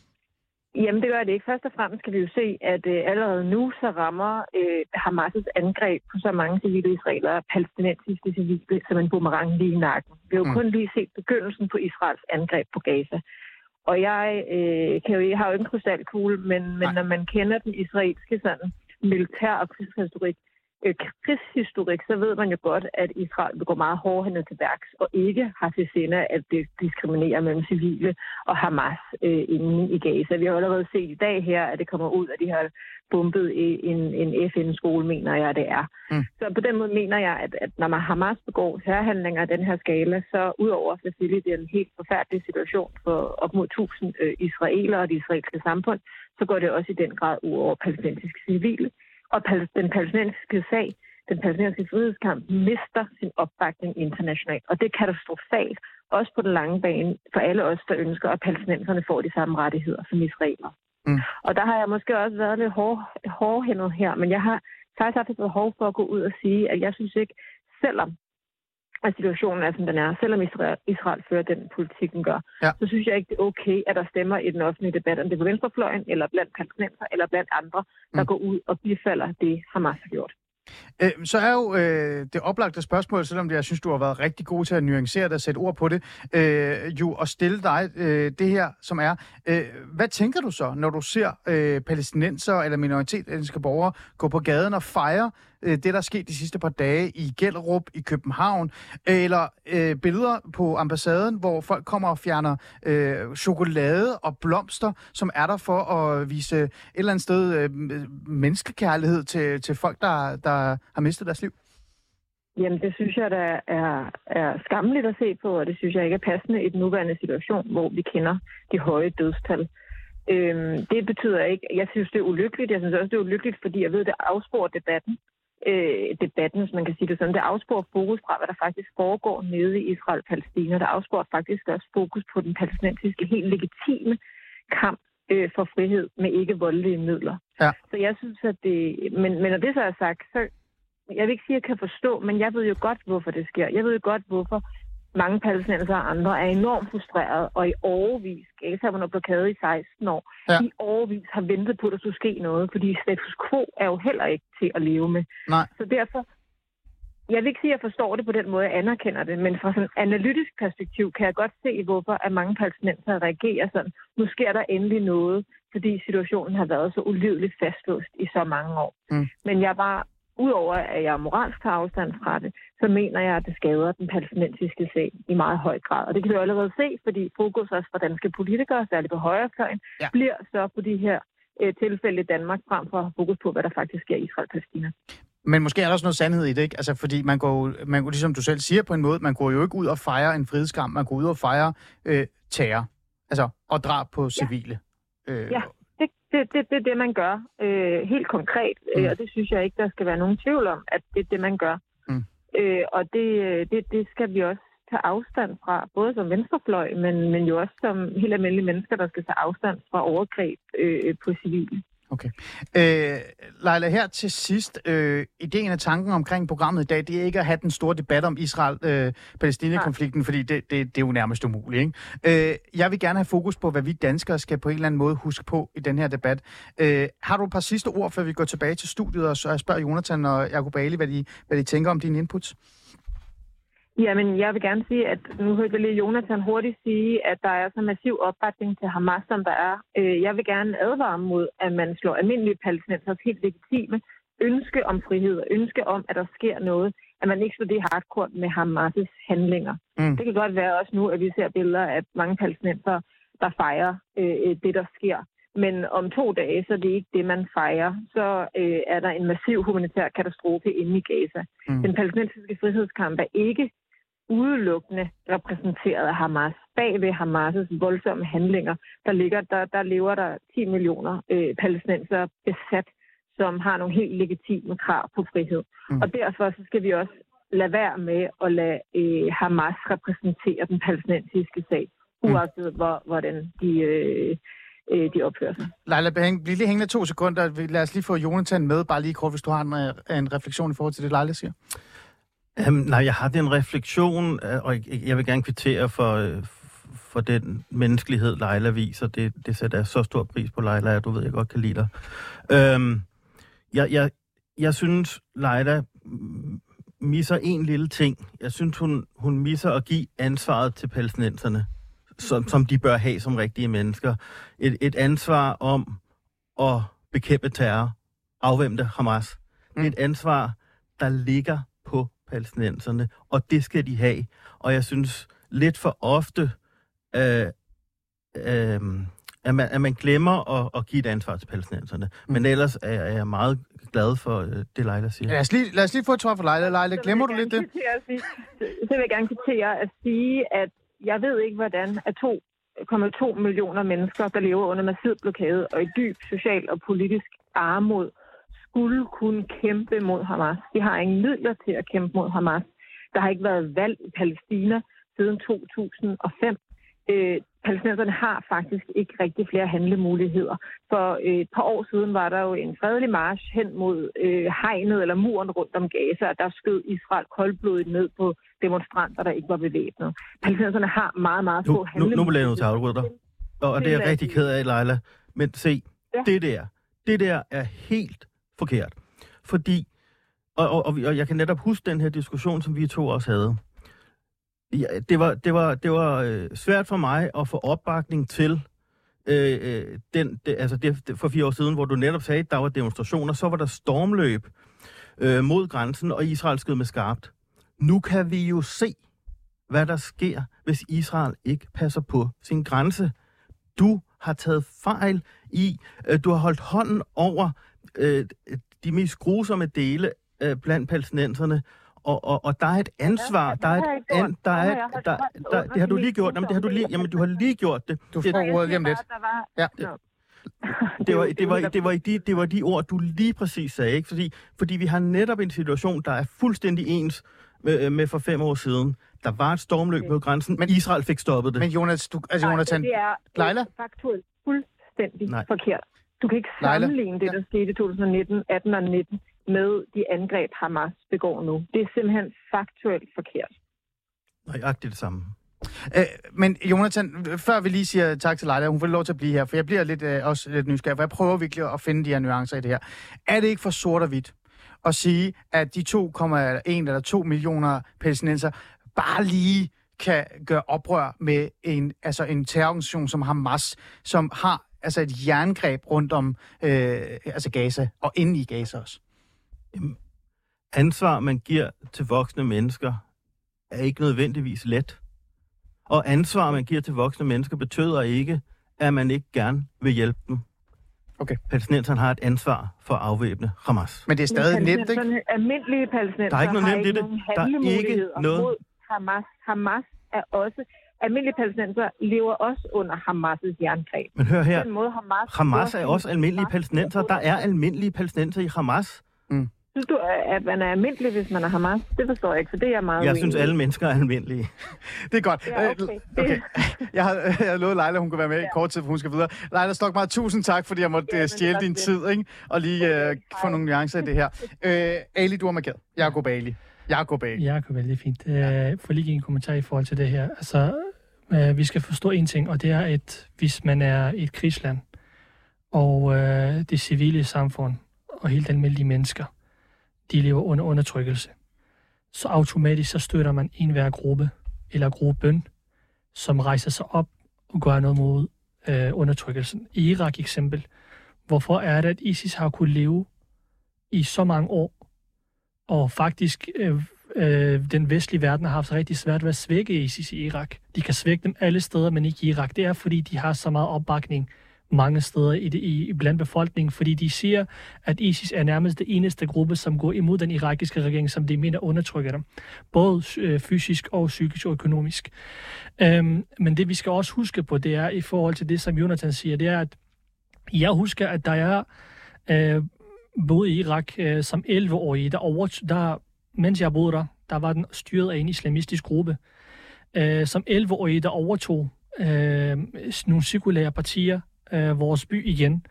Jamen, det gør det ikke. Først og fremmest kan vi jo se, at øh, allerede nu så rammer øh, Hamas' angreb på så mange civile israelere, palæstinensiske civile, som en boomerang lige i nakken. Vi har jo mm. kun lige set begyndelsen på Israels angreb på Gaza. Og jeg, øh, kan jo, jeg har jo ikke en krystalkugle, men, men når man kender den israelske sådan, militær- og krigshistorik, øh, krigshistorik, så ved man jo godt, at Israel vil gå meget hårdhændet til værks og ikke har til sinde at det diskriminerer mellem civile og Hamas øh, inde i Gaza. Vi har allerede set i dag her, at det kommer ud, at de har bombet en, en F N-skole, mener jeg, det er. Mm. Så på den måde mener jeg, at, at når man Hamas begår terrorhandlinger af den her skala, så udover selvfølgelig det er en helt forfærdelig situation for op mod tusind øh, israelere og det israelske samfund, så går det også i den grad ud over palæstinensiske civile. Og den palæstinensiske sag, den palæstinensiske frihedskamp, mister sin opbakning internationalt. Og det er katastrofalt, også på den lange bane, for alle os, der ønsker, at palæstinenserne får de samme rettigheder som israelere. Mm. Og der har jeg måske også været lidt hår, hårdhændet her, men jeg har faktisk haft et behov for at gå ud og sige, at jeg synes ikke, selvom at situationen er, som den er, selvom Israel, Israel fører den politik, den gør, ja. Så synes jeg ikke, det er okay, at der stemmer i den offentlige debat, om det er på venstrefløjen, eller blandt palæstinenser, eller blandt andre, der mm. går ud og bifalder det, Hamas har gjort. Øh, så er jo øh, det oplagte spørgsmål, selvom jeg synes, du har været rigtig god til at nuancere det og sætte ord på det, øh, jo at stille dig øh, det her, som er, øh, hvad tænker du så, når du ser øh, palæstinenser eller minoritetsetniske borgere gå på gaden og fejre øh, det, der er sket de sidste par dage i Gellerup, i København, eller øh, billeder på ambassaden, hvor folk kommer og fjerner øh, chokolade og blomster, som er der for at vise et eller andet sted øh, menneskekærlighed til, til folk, der, der har mistet deres liv? Jamen, det synes jeg, der er, er skammeligt at se på, og det synes jeg ikke er passende i den nuværende situation, hvor vi kender de høje dødstal. Øhm, det betyder ikke, jeg synes, det er ulykkeligt. Jeg synes også, det er ulykkeligt, fordi jeg ved, det afsporer debatten. Øh, debatten, hvis man kan sige det sådan. Det afsporer fokus fra, hvad der faktisk foregår nede i Israel-Palæstina. Det afsporer faktisk også fokus på den palæstinensiske helt legitime kamp øh, for frihed med ikke voldelige midler. Ja. Så jeg synes, at det... Men, men når det så er sagt, så... Jeg vil ikke sige, at jeg kan forstå, men jeg ved jo godt, hvorfor det sker. Jeg ved jo godt, hvorfor mange palæstinenser og andre er enormt frustrerede, og i årevis, Gaza var noget blokade i seksten år, ja. I årevis har ventet på, at der skulle ske noget, fordi status quo er jo heller ikke til at leve med. Nej. Så derfor, jeg vil ikke sige, at jeg forstår det på den måde, jeg anerkender det, men fra sådan et analytisk perspektiv kan jeg godt se, hvorfor at mange palæstinenser reagerer sådan. Nu sker der endelig noget, fordi situationen har været så ulideligt fastlåst i så mange år. Mm. Men jeg bare, udover at jeg moralsk tager afstand fra det, så mener jeg, at det skader den palæstinensiske sag i meget høj grad. Og det kan vi jo allerede se, fordi fokus også fra danske politikere, særligt på højrefløjen, ja. bliver så på de her øh, tilfælde i Danmark, frem for at have fokus på, hvad der faktisk sker i Israel-Palæstina. Men måske er der også noget sandhed i det, ikke? Altså, fordi man går, man går, ligesom du selv siger på en måde, man går jo ikke ud og fejrer en frihedskamp, man går ud og fejrer øh, terror, altså, og drab på civile. Ja, øh, ja. Det, det, det, det er det, man gør øh, helt konkret, mm. øh, og det synes jeg ikke, der skal være nogen tvivl om, at det er det, man gør. Mm. Øh, og det, det, det skal vi også tage afstand fra, både som venstrefløj, men, men jo også som helt almindelige mennesker, der skal tage afstand fra overgreb øh, på civile. Okay. Øh, Leila, her til sidst, øh, ideen og tanken omkring programmet i dag, det er ikke at have den store debat om Israel-Palæstina-konflikten, øh, fordi det, det, det er jo nærmest umuligt, ikke? Øh, jeg vil gerne have fokus på, hvad vi danskere skal på en eller anden måde huske på i den her debat. Øh, har du et par sidste ord, før vi går tilbage til studiet, og så spørger Jonathan og Jacob Ali, hvad de, hvad de tænker om dine inputs? Jamen, jeg vil gerne sige, at nu hørte jeg lige Jonathan hurtigt sige, at der er så massiv opbakning til Hamas, som der er. Jeg vil gerne advare mod, at man slår almindelige palæstinensers helt legitime ønske om frihed og ønske om, at der sker noget, at man ikke slår det hardcore med Hamas' handlinger. Mm. Det kan godt være også nu, at vi ser billeder af mange palæstinenser, der fejrer øh, det, der sker. Men om to dage, så er det ikke det, man fejrer. Så øh, er der en massiv humanitær katastrofe inde i Gaza. Mm. Den palæstinensiske frihedskamp er ikke udelukkende repræsenteret af Hamas. Bag ved Hamas' voldsomme handlinger, der, ligger, der, der lever der ti millioner øh, palæstinensere besat, som har nogle helt legitime krav på frihed. Mm. Og derfor så skal vi også lade være med at lade øh, Hamas repræsentere den palæstinensiske sag, uagtet mm. hvor, hvordan de, øh, øh, de opfører sig. Leila, bliv lige hængende to sekunder. Lad os lige få Jonathan med, bare lige kort, hvis du har en, en refleksion i forhold til det, Leila siger. Um, nej, jeg har den refleksion, og jeg vil gerne kvittere for, for den menneskelighed, Leila viser. Det, det sætter jeg så stor pris på, Leila, at du ved, jeg godt kan lide dig. Um, jeg, jeg, jeg synes, Leila misser en lille ting. Jeg synes, hun, hun misser at give ansvaret til palæstinenserne, som, som de bør have som rigtige mennesker. Et, et ansvar om at bekæmpe terror, afvæmte Hamas. Det er et ansvar, der ligger på palæstinenserne, og det skal de have. Og jeg synes lidt for ofte, øh, øh, at, man, at man glemmer at, at give et ansvar til palæstinenserne. Mm. Men ellers er, er jeg meget glad for øh, det, Leila siger. Lad os lige, lad os lige få et svar for Leila. Leila, glemmer du lidt det? Så vil jeg gerne kvittere at sige, at jeg ved ikke, hvordan at to komma to millioner mennesker, der lever under massiv blokade og i dyb social og politisk armod, skulle kunne kæmpe mod Hamas. De har ingen midler til at kæmpe mod Hamas. Der har ikke været valg i Palæstina siden to tusind og fem. Øh, palæstinenserne har faktisk ikke rigtig flere handlemuligheder. For øh, et par år siden var der jo en fredelig march hen mod øh, hegnet eller muren rundt om Gaza, og der skød Israel koldblodigt ned på demonstranter, der ikke var bevæbnet. Palæstinenserne har meget, meget få handlemuligheder. Nu, nu bliver jeg nødt til at afbryde dig. Og, og det er jeg rigtig ked af, Leila. Men se, ja. det der, det der er helt forkert. Fordi, og, og, og jeg kan netop huske den her diskussion, som vi to også havde. Ja, det var, det var, det var øh, svært for mig at få opbakning til øh, den, det, altså det, det, for fire år siden, hvor du netop sagde, at der var demonstrationer, så var der stormløb øh, mod grænsen, og Israel skød med skarpt. Nu kan vi jo se, hvad der sker, hvis Israel ikke passer på sin grænse. Du har taget fejl i, øh, du har holdt hånden over øh, de mest grusomme dele øh, blandt palæstinenserne, og, og, og der er et ansvar, der er et an, der er et, der, der, det har du lige gjort, jamen det har du lige, jamen du har lige gjort det. Du får ordet lige om lidt. Ja. Det, det var det var det var de det var de ord du lige præcis sagde, ikke? Fordi fordi vi har netop en situation, der er fuldstændig ens med, med for fem år siden. Der var et stormløb mod grænsen, men Israel fik stoppet det. Men Jonas, du altså Jonathan, det er Leila? faktuelt fuldstændig Nej. forkert. Du kan ikke sammenligne det, der skete i to tusind og nitten, atten og nitten med de angreb, Hamas begår nu. Det er simpelthen faktuelt forkert. Nøjagtigt det samme. Øh, men Jonathan, før vi lige siger tak til Leila, hun får lov til at blive her, for jeg bliver lidt, øh, også lidt nysgerrig, for jeg prøver virkelig at finde de her nuancer i det her. Er det ikke for sort og hvidt at sige, at de to komma en eller to millioner palæstinenser bare lige kan gøre oprør med en, altså en terrororganisation som Hamas, som har altså et jerngreb rundt om øh, altså Gaza, og inde i Gaza også? Ansvar, man giver til voksne mennesker, er ikke nødvendigvis let. Og ansvar, man giver til voksne mennesker, betyder ikke, at man ikke gerne vil hjælpe dem. Okay. Palæstinenserne har et ansvar for at afvæbne Hamas. Men det er stadig nemt, ikke? Almindelige palæstinenser Der er ikke noget har nemt i det. Der er ikke noget... mod Hamas. Hamas er også... Almindelige palæstinenser lever også under Hamas' jerngreb. Men hør her, Den måde, Hamas, Hamas er også almindelige palæstinenser. Der er almindelige palæstinenser i Hamas. Mm. Synes du, at man er almindelig, hvis man er Hamas? Det forstår jeg ikke, for det er jeg meget Jeg uenig synes, i. alle mennesker er almindelige. Det er godt. Ja, okay. okay. Jeg har, jeg har lovet Leila, hun kunne være med i Ja. kort tid, for hun skal videre. Leila Stokmark, tusind tak, fordi jeg måtte Ja, ja, men stjæle det din var tid, ikke? Og lige Okay, uh, få hej. nogle nuancer i det her. Uh, Ali, du er markeret. Jakob Ali. Jakob Ali. Jakob, vældig fint. Øh, for lige en kommentar i forhold til det her. Altså, øh, vi skal forstå en ting, og det er, at hvis man er et krigsland, og øh, det civile samfund, og helt almindelige mennesker, de lever under undertrykkelse, så automatisk så støtter man en hver gruppe, eller gruppen, som rejser sig op og gør noget mod øh, undertrykkelsen. I Irak eksempel, hvorfor er det, at ISIS har kunnet leve i så mange år, og faktisk øh, øh, den vestlige verden har haft rigtig svært ved at svække ISIS i Irak. De kan svække dem alle steder, men ikke i Irak. Det er, fordi de har så meget opbakning mange steder i, det, i blandt befolkningen, fordi de siger, at ISIS er nærmest det eneste gruppe, som går imod den irakiske regering, som de mener undertrykker dem. Både øh, fysisk og psykisk og økonomisk. Øhm, men det vi skal også huske på, det er i forhold til det, som Jonathan siger, det er, at jeg husker, at der er øh, boede i Irak øh, som elleve-årige, der, over, der, mens jeg boede der, der var den styret af en islamistisk gruppe. Øh, som elleve-årige, der overtog øh, nogle sekulære partier, øh, vores by igen,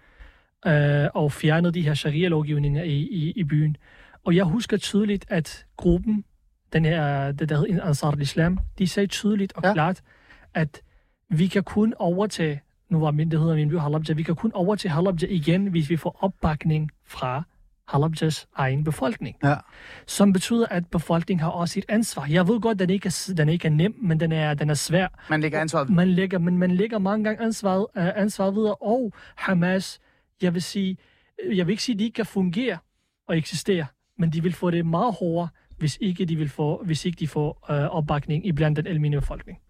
øh, og fjernede de her sharia-lovgivninger i, i, i byen. Og jeg husker tydeligt, at gruppen, den her, det der hedder Ansar al-Islam, de sagde tydeligt og ja. klart, at vi kan kun overtage, nu var min, det hedder min by Halabja, vi kan kun overtage Halabja igen, hvis vi får opbakning fra Halabjas egen befolkning. Ja. Som betyder, at befolkningen har også et ansvar. Jeg ved godt, at den ikke er, den ikke er nem, men den er, den er svær. Man lægger ansvaret. Man lægger, men man lægger mange gange ansvaret, uh, ansvaret videre, og Hamas, jeg vil sige, jeg vil ikke sige, at de ikke kan fungere og eksistere, men de vil få det meget hårdere, hvis ikke de, vil få, hvis ikke de får uh, opbakning i blandt den almindelige befolkning.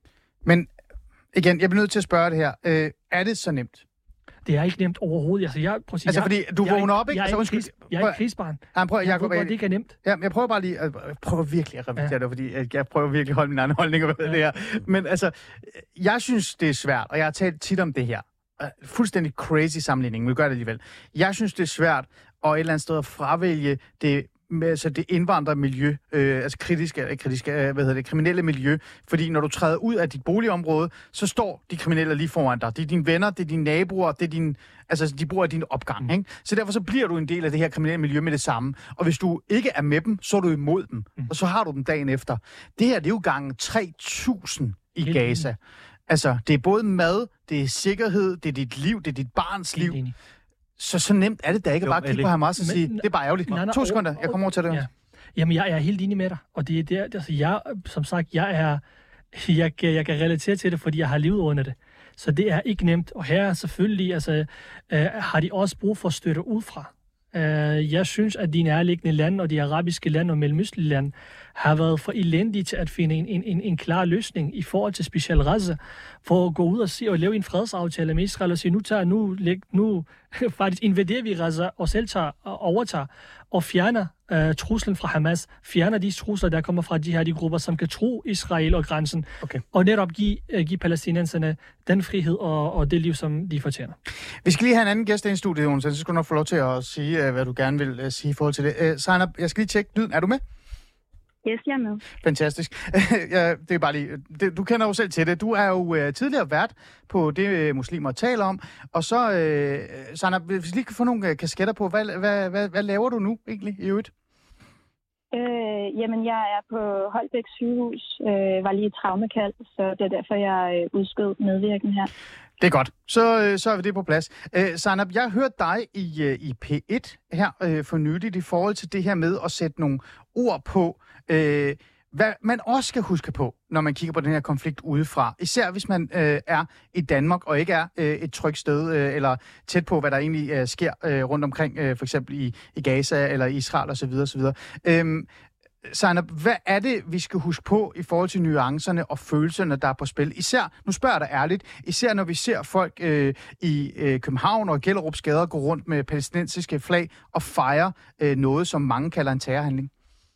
Men igen, jeg bliver nødt til at spørge det her. Øh, er det så nemt? Det er ikke nemt overhovedet. Altså, jeg, prøv at sige, Altså, jeg, fordi du jeg, vågner op, ikke? Jeg er Altså, ikke, kris, jeg er ikke krigsbarn. Ja, prøv, Jeg Jacob, ved godt, det ikke er nemt. Ja, jeg prøver bare lige, jeg prøver virkelig at repetere Ja. det, fordi jeg, jeg prøver virkelig at holde min egen holdning ved ja. det her. Men altså, jeg synes, det er svært, og jeg har talt tit om det her. Fuldstændig crazy sammenligning, men vi gør det alligevel. Jeg synes, det er svært at et eller andet sted at fravælge det med altså det indvandrermiljø, øh, altså kritiske, kritiske, hvad hedder det, kriminelle miljø, fordi når du træder ud af dit boligområde, så står de kriminelle lige foran dig. Det er dine venner, det er dine naboer, det er din, altså de bor i din opgang, mm. ikke? Så derfor så bliver du en del af det her kriminelle miljø med det samme. Og hvis du ikke er med dem, så er du imod dem, mm. og så har du dem dagen efter. Det her, det er jo gange tre tusind i Helt Gaza. Enig. Altså, det er både mad, det er sikkerhed, det er dit liv, det er dit barns Helt liv. enig. Så så nemt er det da ikke Jo, at bare kigge på Hamas og sige, det er bare ærgerligt. Nej, nej, to sekunder, jeg kommer over til det. Ja. Jamen, jeg er helt enig med dig, og det er der, altså jeg, som sagt, jeg er, jeg, jeg kan relatere til det, fordi jeg har levet under det. Så det er ikke nemt, og her selvfølgelig, altså, øh, har de også brug for støtte udefra. Uh, jeg synes, at de nærliggende lande og de arabiske lande og mellemøstlige lande har været for elendige til at finde en, en, en, en klar løsning i forhold til specielt Gaza, for at gå ud og, se, og lave en fredsaftale med Israel og sige, nu, tager, nu, nu faktisk invaderer vi Gaza og selv tager og overtager og fjerner uh, truslen fra Hamas, fjerner de trusler, der kommer fra de her de grupper, som kan tro Israel og grænsen, okay. og netop give, uh, give palæstinenserne den frihed og, og det liv, som de fortjener. Vi skal lige have en anden gæst ind i studiet, Jonas, så skal du nok få lov til at sige, uh, hvad du gerne vil uh, sige i forhold til det. Uh, Zainab, jeg skal lige tjekke lyden. Er du med? Yes, jeg er med. Fantastisk. ja, det er bare lige, det, du kender jo selv til det. Du er jo uh, tidligere vært på det, uh, muslimer taler om. Og så, uh, Zainab, hvis vi lige kan få nogle uh, kasketter på, hvad, hvad, hvad, hvad laver du nu egentlig i øvrigt? Øh, jamen, jeg er på Holbæk sygehus, øh, var lige i traumekald, så det er derfor, jeg øh, udskød medvirken her. Det er godt. Så, øh, så er vi det på plads. Øh, Zainab, jeg hørte dig i, øh, i P et her øh, for nyligt i forhold til det her med at sætte nogle ord på, øh, Hvad man også skal huske på, når man kigger på den her konflikt udefra, især hvis man øh, er i Danmark og ikke er øh, et trygt sted, øh, eller tæt på, hvad der egentlig øh, sker øh, rundt omkring, øh, for eksempel i, i Gaza eller Israel osv. osv. Øhm, Zainab, hvad er det, vi skal huske på i forhold til nuancerne og følelserne, der er på spil? Især, nu spørger jeg dig ærligt, især når vi ser folk øh, i øh, København og Gellerup's gader gå rundt med palæstinensiske flag og fejre øh, noget, som mange kalder en terrorhandling.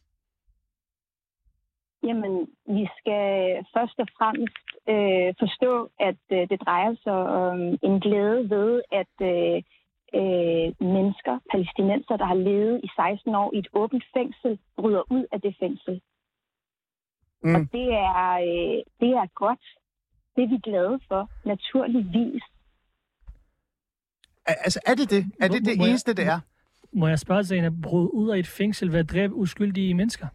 Jamen, vi skal først og fremmest øh, forstå, at øh, det drejer sig om en glæde ved, at øh, øh, mennesker, palæstinenser, der har levet i seksten år i et åbent fængsel, bryder ud af det fængsel. Mm. Og det er, øh, det er godt. Det er vi glade for, naturligvis. Altså, er det det? Er det det må eneste, jeg, det er? Må jeg spørge sig, at bryde ud af et fængsel ved at dræbe uskyldige mennesker?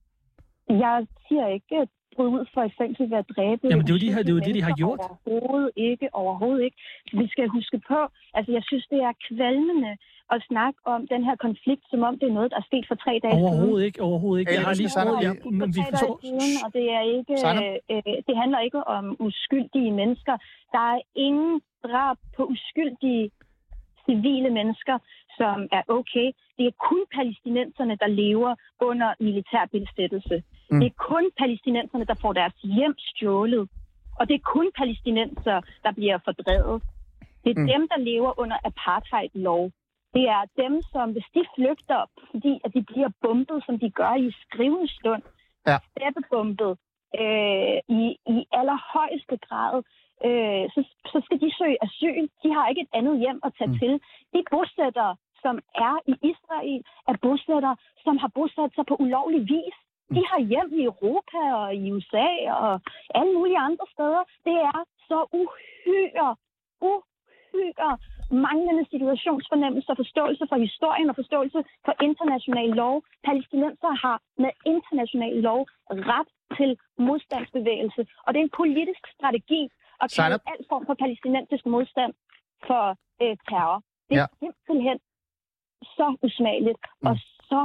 Jeg siger ikke, at bryde ud for et fængsel ved at dræbe. Jamen, det er jo de her, det er jo det, de har gjort. Overhovedet ikke, overhovedet ikke. Vi skal huske på, altså jeg synes, det er kvalmende at snakke om den her konflikt, som om det er noget, der er sket for tre dage siden. Overhovedet ikke, overhovedet ikke. Jeg har lige sagt, ja, men vi forstår. Og det er ikke, øh, det handler ikke om uskyldige mennesker. Der er ingen drab på uskyldige civile mennesker, som er okay. Det er kun palæstinenserne, der lever under militær besættelse. Mm. Det er kun palæstinenserne, der får deres hjem stjålet. Og det er kun palæstinenser, der bliver fordrevet. Det er mm. dem, der lever under apartheid-lov. Det er dem, som hvis de flygter, fordi at de bliver bombet, som de gør i skrivende stund, ja. Steppebombet øh, i, i allerhøjeste grad, øh, så, så skal de søge asyl. De har ikke et andet hjem at tage mm. til. De bosættere, som er i Israel, er bosættere, som har bosat sig på ulovlig vis. De har hjem i Europa og i U S A og alle mulige andre steder. Det er så uhyre, uhyre manglende situationsfornemmelse og forståelse for historien og forståelse for international lov. Palæstinenser har med international lov ret til modstandsbevægelse. Og det er en politisk strategi at kalde al form for palæstinensisk modstand for øh, terror. Det er ja. simpelthen så usmageligt mm. og så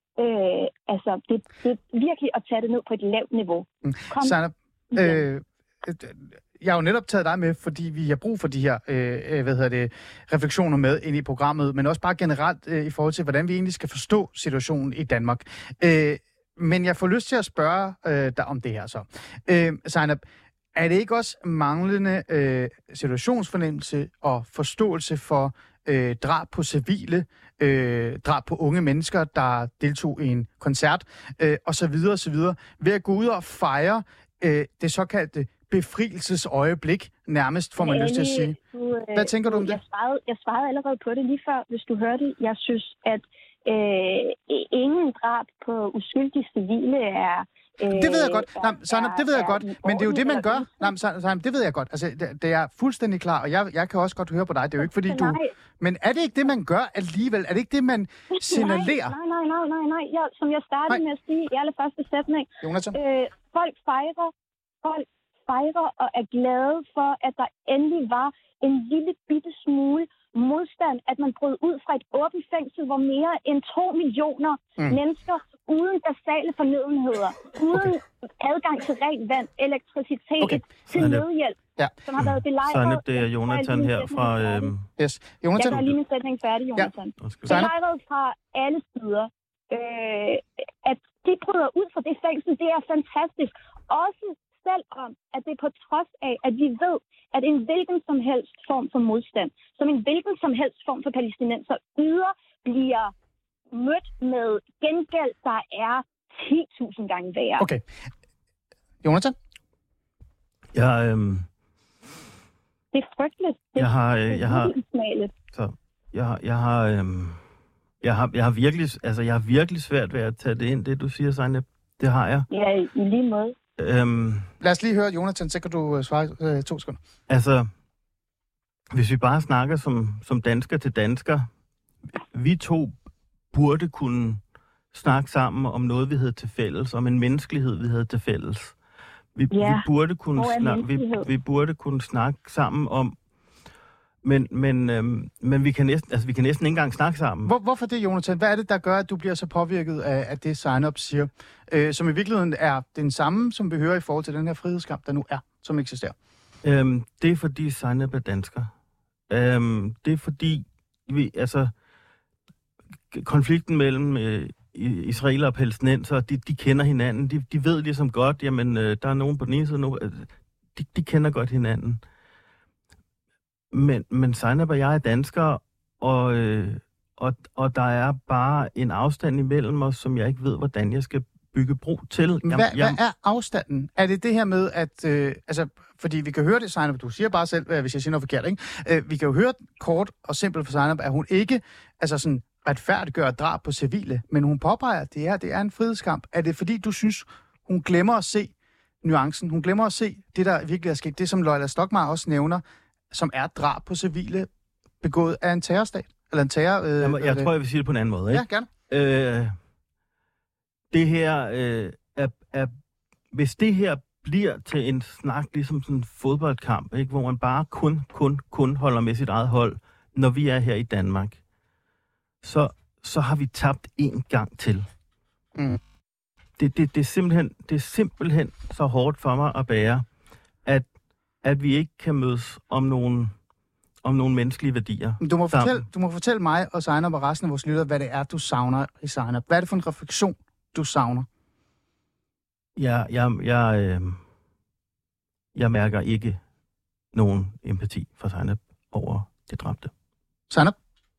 Øh, altså, det, det er virkelig at tage det ned på et lavt niveau. Kom. Zainab, øh, jeg har jo netop taget dig med, fordi vi har brug for de her øh, hvad hedder det, refleksioner med ind i programmet, men også bare generelt øh, i forhold til, hvordan vi egentlig skal forstå situationen i Danmark. Øh, men jeg får lyst til at spørge øh, dig om det her så. Øh, Zainab, er det ikke også manglende øh, situationsfornemmelse og forståelse for øh, drab på civile, øh, drab på unge mennesker, der deltog i en koncert, øh, osv. osv. ved at gå ud og fejre øh, det såkaldte befrielsesøjeblik, nærmest får man lyst til at sige. Hvad tænker du om det? Jeg svarede, jeg svarede allerede på det lige før, hvis du hørte. Jeg synes, at øh, ingen drab på uskyldige civile er... Øh, det ved jeg godt. Nej, Zainab, det ved jeg godt. Men det er jo det, man gør. Nej, Zainab, det ved jeg godt. Altså, det, det er fuldstændig klar, og jeg, jeg kan også godt høre på dig. Det er jo ikke, fordi du... Men er det ikke det, man gør alligevel? Er det ikke det, man signalerer? Nej, nej, nej, nej, nej. Jeg, som jeg startede nej. med at sige i allerførste sætning. Øh, folk fejrer, folk fejrer og er glade for, at der endelig var en lille bitte smule modstand, at man brød ud fra et åbent fængsel, hvor mere end to millioner mm. mennesker uden basale fornødenheder, uden okay. adgang til rent vand, elektricitet, okay. til nødhjælp, ja. som har været belejret... Zainab, det er Jonathan her fra... Øhm... Yes. Jonathan. Jeg gør lige min sætning færdig, Jonathan. Ja. Belejret fra alle sider. Øh, at de bryder ud fra det fængsel, det er fantastisk. Også selvom, at det er på trods af, at vi ved, at en hvilken som helst form for modstand, som en hvilken som helst form for palæstinenser yder, bliver mødt med gengæld, der er ti tusind gange værre. Okay. Jonathan? Jeg, øhm... Det er frygteligt. Det jeg har... Øh, jeg har... Så, jeg har... Jeg har, øhm... jeg har, jeg har virkelig... Altså, jeg har virkelig svært ved at tage det ind, det du siger, Zainab. Det har jeg. Ja, i lige måde. Øhm, Lad os lige høre, Jonathan, så kan du svare øh, to sekunder. Altså, hvis vi bare snakker som, som dansker til dansker, vi to burde kunne snakke sammen om noget, vi havde til fælles, om en menneskelighed, vi havde til fælles. Vi, ja. vi, burde, kunne snak, vi, vi burde kunne snakke sammen om Men, men, øhm, men vi, kan næsten, altså, vi kan næsten ikke engang snakke sammen. Hvor, hvorfor det, Jonathan? Hvad er det, der gør, at du bliver så påvirket af, af det, Zainab siger? Øh, som i virkeligheden er den samme, som vi hører i forhold til den her frihedskamp, der nu er, som eksisterer. Øhm, det er fordi Zainab er dansker. Øhm, det er fordi, vi, altså, konflikten mellem øh, israeler og palæstinenser, de, de kender hinanden. De, de ved ligesom godt, jamen, øh, der er nogen på den ene side nu. Øh, de, de kender godt hinanden. Men, men Zainab og jeg er danskere, og, øh, og, og der er bare en afstand imellem os, som jeg ikke ved, hvordan jeg skal bygge bro til. Hvad, Jamen, jeg... hvad er afstanden? Er det det her med, at... Øh, altså, fordi vi kan høre det, Zainab, du siger bare selv, øh, hvis jeg siger noget forkert, ikke? Øh, vi kan jo høre kort og simpelt for Zainab, at hun ikke altså sådan, retfærdiggør drab på civile, men hun påpeger, at det her det er en frihedskamp. Er det fordi, du synes, hun glemmer at se nuancen? Hun glemmer at se det, der virkelig er sket. Det, som Leila Stockmarr også nævner, som er drab på civile begået af en terrorstat? Eller en terror... Øh, Jamen, jeg tror, jeg vil sige det på en anden måde. Ikke? Ja, gerne. Øh, det her øh, er, er... Hvis det her bliver til en snak, ligesom sådan en fodboldkamp, ikke? Hvor man bare kun, kun, kun holder med sit eget hold, når vi er her i Danmark, så, så har vi tabt en gang til. Mm. Det, det, det, er simpelthen, det er simpelthen så hårdt for mig at bære, at, at vi ikke kan mødes om nogle, om nogle menneskelige værdier. Du må, fortælle, du må fortælle mig og Zainab og resten af vores lyttere, hvad det er, du savner i Zainab. Hvad er det for en refleksion, du savner? Jeg, jeg, jeg, øh, jeg mærker ikke nogen empati for Zainab over det dræbte. Zainab?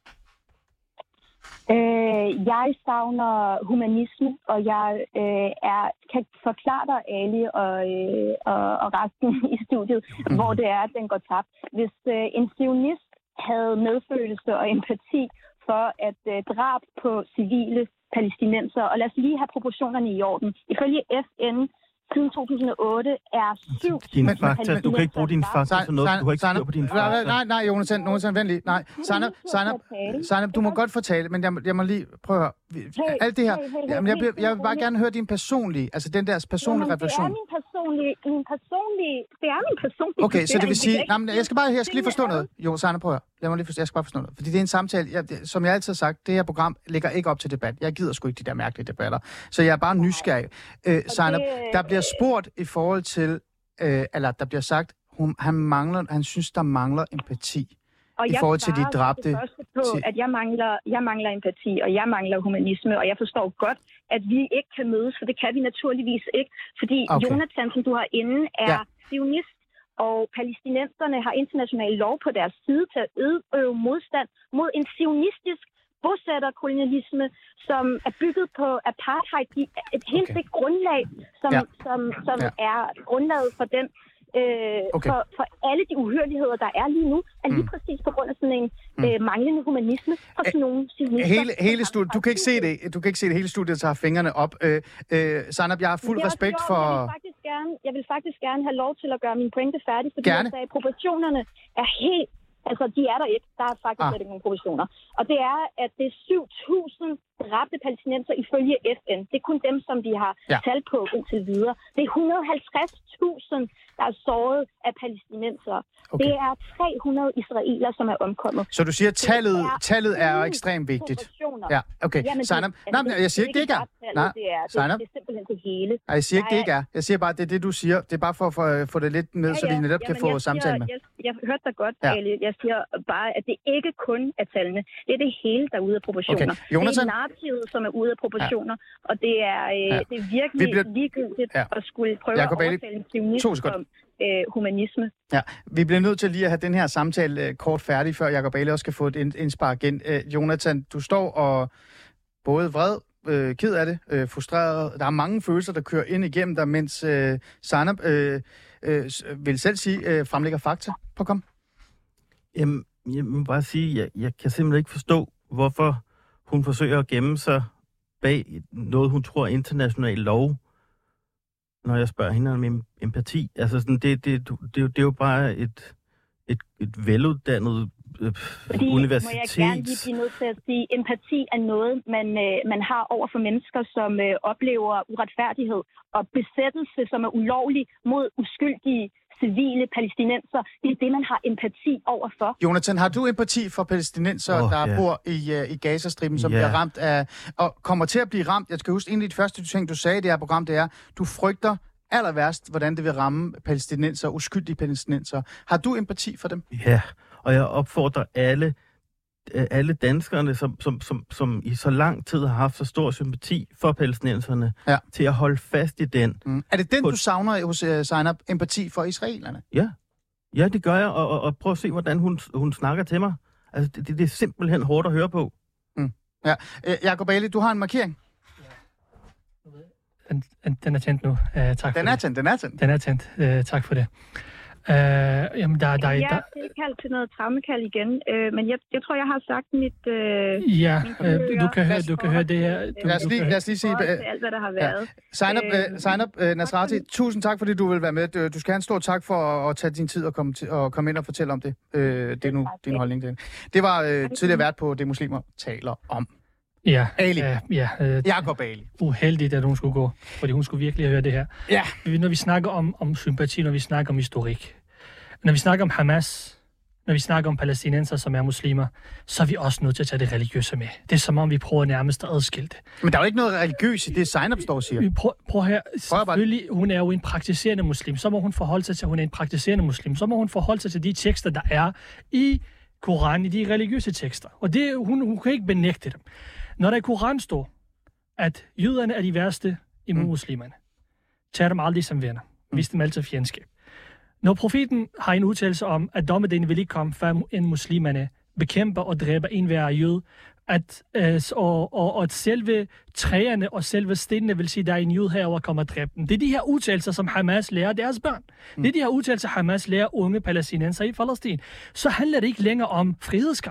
Øh, jeg savner humanisme, og jeg øh, er, kan forklare dig, Ali og, øh, og, og resten i studiet, mm. hvor det er, at den går tabt. Hvis øh, en sionist havde medfølelse og empati for at øh, drab på civile palæstinenser, og lad os lige have proportionerne i orden. Ifølge F N siden to tusind og otte er syv... Dine fakta, du kan ikke bruge dine fakta til noget, du har ikke styr på dine fakta. Nej, nej, Jonathan, Jonathan, vent lige. Nej, Zainab, Zainab, Zainab, du må godt fortælle, men jeg, jeg må lige prøve at høre. Alt det her, jamen, jeg, jeg vil bare gerne høre din personlige, altså den der personlige Jamen, refleksion. Det er min personlige, min personlige, det er min personlige... Okay, så det vil sige, nej, men jeg skal bare, jeg skal lige forstå noget. Jo, Zainab, prøv at høre. Lad mig lige forstå, jeg skal bare forstå noget. Fordi det er en samtale, jeg, som jeg altid har sagt, det her program ligger ikke op til debat. Jeg gider sgu ikke de der mærkelige debatter. Så jeg er bare nysgerrig. Øh, Zainab, der bliver spurgt i forhold til, øh, eller der bliver sagt, hun, han mangler, han synes, der mangler empati. Og i forhold til de dræbte. På, at jeg mangler, jeg mangler empati, og jeg mangler humanisme, og jeg forstår godt, at vi ikke kan mødes, for det kan vi naturligvis ikke. Fordi okay. Jonathan, som du har inde, er ja. sionist, og palæstinenserne har international lov på deres side til at øve modstand mod en sionistisk bosætterkolonialisme, som er bygget på apartheid, et helt okay. det grundlag, som, ja. som, som ja. er grundlaget for den øh, okay. for, for alle de uhyrligheder, der er lige nu, er lige mm. præcis på grund af sådan en mm. øh, manglende humanisme og sådan nogle sionister. Hele, hele studiet, du kan ikke se det, du kan ikke se det, hele studiet tager fingrene op. Øh, øh, Zainab, jeg har fuld respekt for... Jeg vil, faktisk gerne, jeg vil faktisk gerne have lov til at gøre min pointe færdig, fordi gerne. jeg sagde, at proportionerne er helt... Altså, de er der ikke. Der er faktisk ah. ikke nogen proportioner. Og det er, at det er syv tusind dræbte palæstinenser ifølge F N. Det er kun dem, som de har ja. talt på indtil videre. Det er et hundrede og halvtreds tusind, der er såret af palæstinenser. Okay. Det er tre hundrede israeler, som er omkommet. Så du siger, at tallet, tallet er ekstremt vigtigt? Ja, okay. Jamen, Zainab, det, nej, jeg siger ikke, det ikke er. Nej, det er, det, det er simpelthen det hele. Nej, jeg siger ikke, det ikke er. Jeg siger bare, det er det, du siger. Det er bare for at få det lidt med, ja, ja. så vi netop Jamen, kan få samtale med. Jeg, jeg hørte dig godt, ja. Ali. Jeg siger bare, at det ikke kun er tallene. Det er det hele, der er ude af proportioner. Okay. Jonathan? Det er narrativet, som er ude af proportioner. Ja. Og det er, øh, ja. det er virkelig bliver... ligegyldigt ja. at skulle prøve Jacob at overtale en sionisme om øh, humanisme. Ja, vi bliver nødt til lige at have den her samtale øh, kort færdig, før Jacob Ali også skal få et indspark igen. Øh, Jonathan, du står og både vred, øh, ked af det, øh, frustreret. Der er mange følelser, der kører ind igennem dig, mens øh, Zainab øh, øh, vil selv sige, øh, fremlægger fakta. På kom. Jamen, jeg må bare sige, jeg, jeg kan simpelthen ikke forstå, hvorfor hun forsøger at gemme sig bag noget, hun tror er international lov, når jeg spørger hende om empati. Altså, sådan, det, det, det, det, det er jo bare et, et, et veluddannet øh, Fordi, universitet. Må jeg gerne lige blive nødt til at sige, empati er noget, man, øh, man har over for mennesker, som øh, oplever uretfærdighed og besættelse, som er ulovlig mod uskyldige civile palæstinenser. Det er det, man har empati overfor. Jonathan, har du empati for palæstinenser, oh, der yeah. bor i, uh, i Gazastriben, som yeah. bliver ramt af, og kommer til at blive ramt? Jeg skal huske, en af de første ting, du sagde i det her program, det er, du frygter aller værst, hvordan det vil ramme palæstinenser, uskyldige palæstinenser. Har du empati for dem? Ja, og jeg opfordrer alle, alle danskerne, som, som, som, som i så lang tid har haft så stor sympati for palæstinenserne, ja. til at holde fast i den. Mm. Er det den, på... du savner hos uh, Zainab, empati for israelerne? Ja, ja det gør jeg, og, og, og prøv at se, hvordan hun, hun snakker til mig. Altså, det, det er simpelthen hårdt at høre på. Mm. Ja. Uh, Jacob Ali, du har en markering. Den, den er tændt nu. Uh, tak den for er det. tændt, den er tændt. Den er tændt. Uh, tak for det. Uh, jamen, der, der, jeg der... er tilkaldt til noget trammekald igen, uh, men jeg, jeg tror, jeg har sagt mit... Uh, ja, uh, du kan høre, du kan høre det her. Du, lad, os lige, lad os lige sige... Uh, alt, hvad der har været. Ja. Zainab uh, uh, Nasrati, tusind tak, fordi du vil være med. Du, du skal have en stor tak for at, at tage din tid og komme, til, og komme ind og fortælle om det. Uh, det er nu din holdning til det. Det var uh, tidligere vært på Det Muslimer taler om. Ja, Ali. Uh, ja, uh, Jacob Ali. Uheldigt, at hun skulle gå, fordi hun skulle virkelig høre det her. Ja. Når vi snakker om, om sympati, når vi snakker om historik, når vi snakker om Hamas, når vi snakker om palæstinenser, som er muslimer, så er vi også nødt til at tage det religiøse med. Det er som om, vi prøver nærmest at adskille det. Men der er jo ikke noget religiøst i det, Zainab står og siger. Vi prøver, prøv her. Selvfølgelig, hun er jo en praktiserende muslim. Så må hun forholde sig til, at hun er en praktiserende muslim. Så må hun forholde sig til de tekster, der er i Koranen, i de religiøse tekster. Og det, hun, hun kan ikke benægte dem. Når der i Koranen står, at jøderne er de værste imod mm. muslimerne, tager dem aldrig som venner. Vis dem altid fjendskab. Når profeten har en udtalelse om, at dommedagen vil ikke komme, før en muslimerne bekæmper og dræber en hver jøde, at, øh, og, og, og at selve træerne og selve stenene vil sige, at der er en jøde herover, kommer og dræber dem. Det er de her udtalelser, som Hamas lærer deres børn. Mm. Det er de her udtalelser, Hamas lærer unge palæstinenser i Palæstina. Så handler det ikke længere om frihedskamp.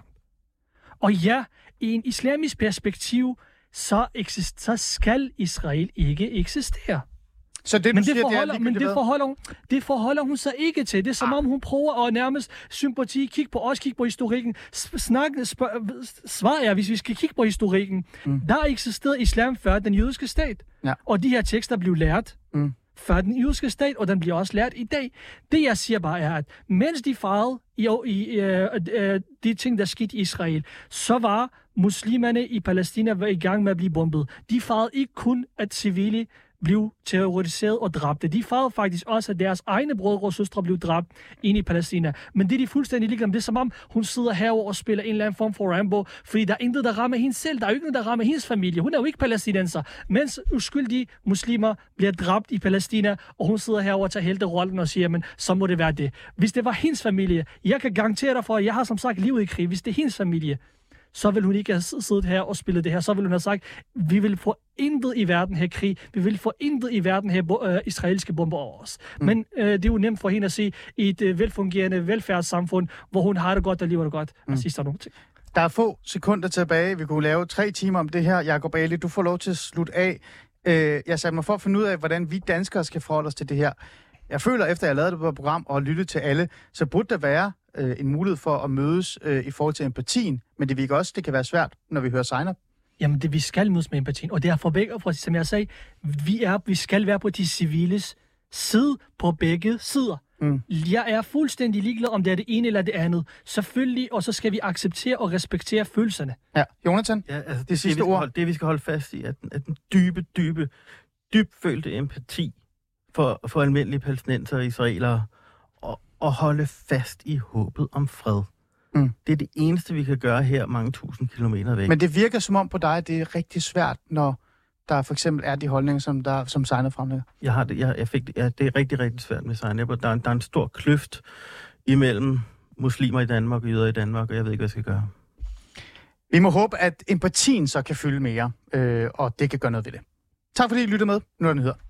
Og ja, i en islamisk perspektiv, så, eksist, så skal Israel ikke eksistere. Så det, men du det, siger, forholder, det, er men det, forholder hun, det forholder hun sig ikke til. Det er som ah. om, hun prøver at nærmest sympati, kigge på os, kigge på historikken. Snakke, svarer jeg, hvis vi skal kigge på historikken. Mm. Der eksisterede islam før den jødiske stat. Ja. Og de her tekster blev lært mm. før den jødiske stat, og den bliver også lært i dag. Det, jeg siger bare, er, at mens de fejrede i, i uh, uh, de ting, der skete i Israel, så var muslimerne i Palæstina var i gang med at blive bombet. De fejrede ikke kun, at civile blev terroriseret og dræbt. De fejrede faktisk også, at deres egne brødre og søstre blev dræbt inde i Palæstina. Men det er de fuldstændig ligeglade. Det er som om, hun sidder herovre og spiller en eller anden form for Rambo, fordi der er intet, der rammer hende selv. Der er jo ikke noget, der rammer hendes familie. Hun er jo ikke palæstinenser. Mens uskyldige muslimer bliver dræbt i Palæstina, og hun sidder herovre og tager helterollen og siger, men så må det være det. Hvis det var hendes familie, jeg kan garantere dig for, at jeg har som sagt livet i krig. Hvis det er hendes familie, så vil hun ikke have siddet her og spillet det her. Så vil hun have sagt, vi vil få intet i verden her krig. Vi vil få intet i verden her øh, israelske bomber over os. Mm. Men øh, det er jo nemt for hende at sige, i et øh, velfungerende velfærdssamfund, hvor hun har det godt og lever det godt. Mm. Altså, nogle ting. Der er få sekunder tilbage. Vi kunne lave tre timer om det her. Jacob Ali, du får lov til at slutte af. Øh, jeg satte mig for at finde ud af, hvordan vi danskere skal forholde os til det her. Jeg føler, efter jeg lavede det på program og lyttet til alle, så burde der være øh, en mulighed for at mødes øh, i forhold til empatien. Men det virker også, det kan være svært, når vi hører Zainab. Jamen, det vi skal mødes med empatien. Og det er for begge, for, som jeg sagde, vi, er, vi skal være på de civiles side på begge sider. Mm. Jeg er fuldstændig ligeglad, om det er det ene eller det andet. Selvfølgelig, og så skal vi acceptere og respektere følelserne. Ja, Jonathan, ja, altså, det, det sidste det, ord. Holde, det vi skal holde fast i, er den, er den dybe, dybe, dybfølte empati for, for almindelige palæstinenser og israelere, og, og holde fast i håbet om fred. Mm. Det er det eneste, vi kan gøre her mange tusind kilometer væk. Men det virker som om på dig, at det er rigtig svært, når der for eksempel er de holdninger, som, der, som Zainab fremlægger. Jeg har det, jeg, jeg fik det, ja, det er rigtig, rigtig svært med Zainab. Der, der er en stor kløft imellem muslimer i Danmark og jøder i Danmark, og jeg ved ikke, hvad jeg skal gøre. Vi må håbe, at empatien så kan fylde mere, øh, og det kan gøre noget ved det. Tak fordi I lyttede med. Nu er den hedder.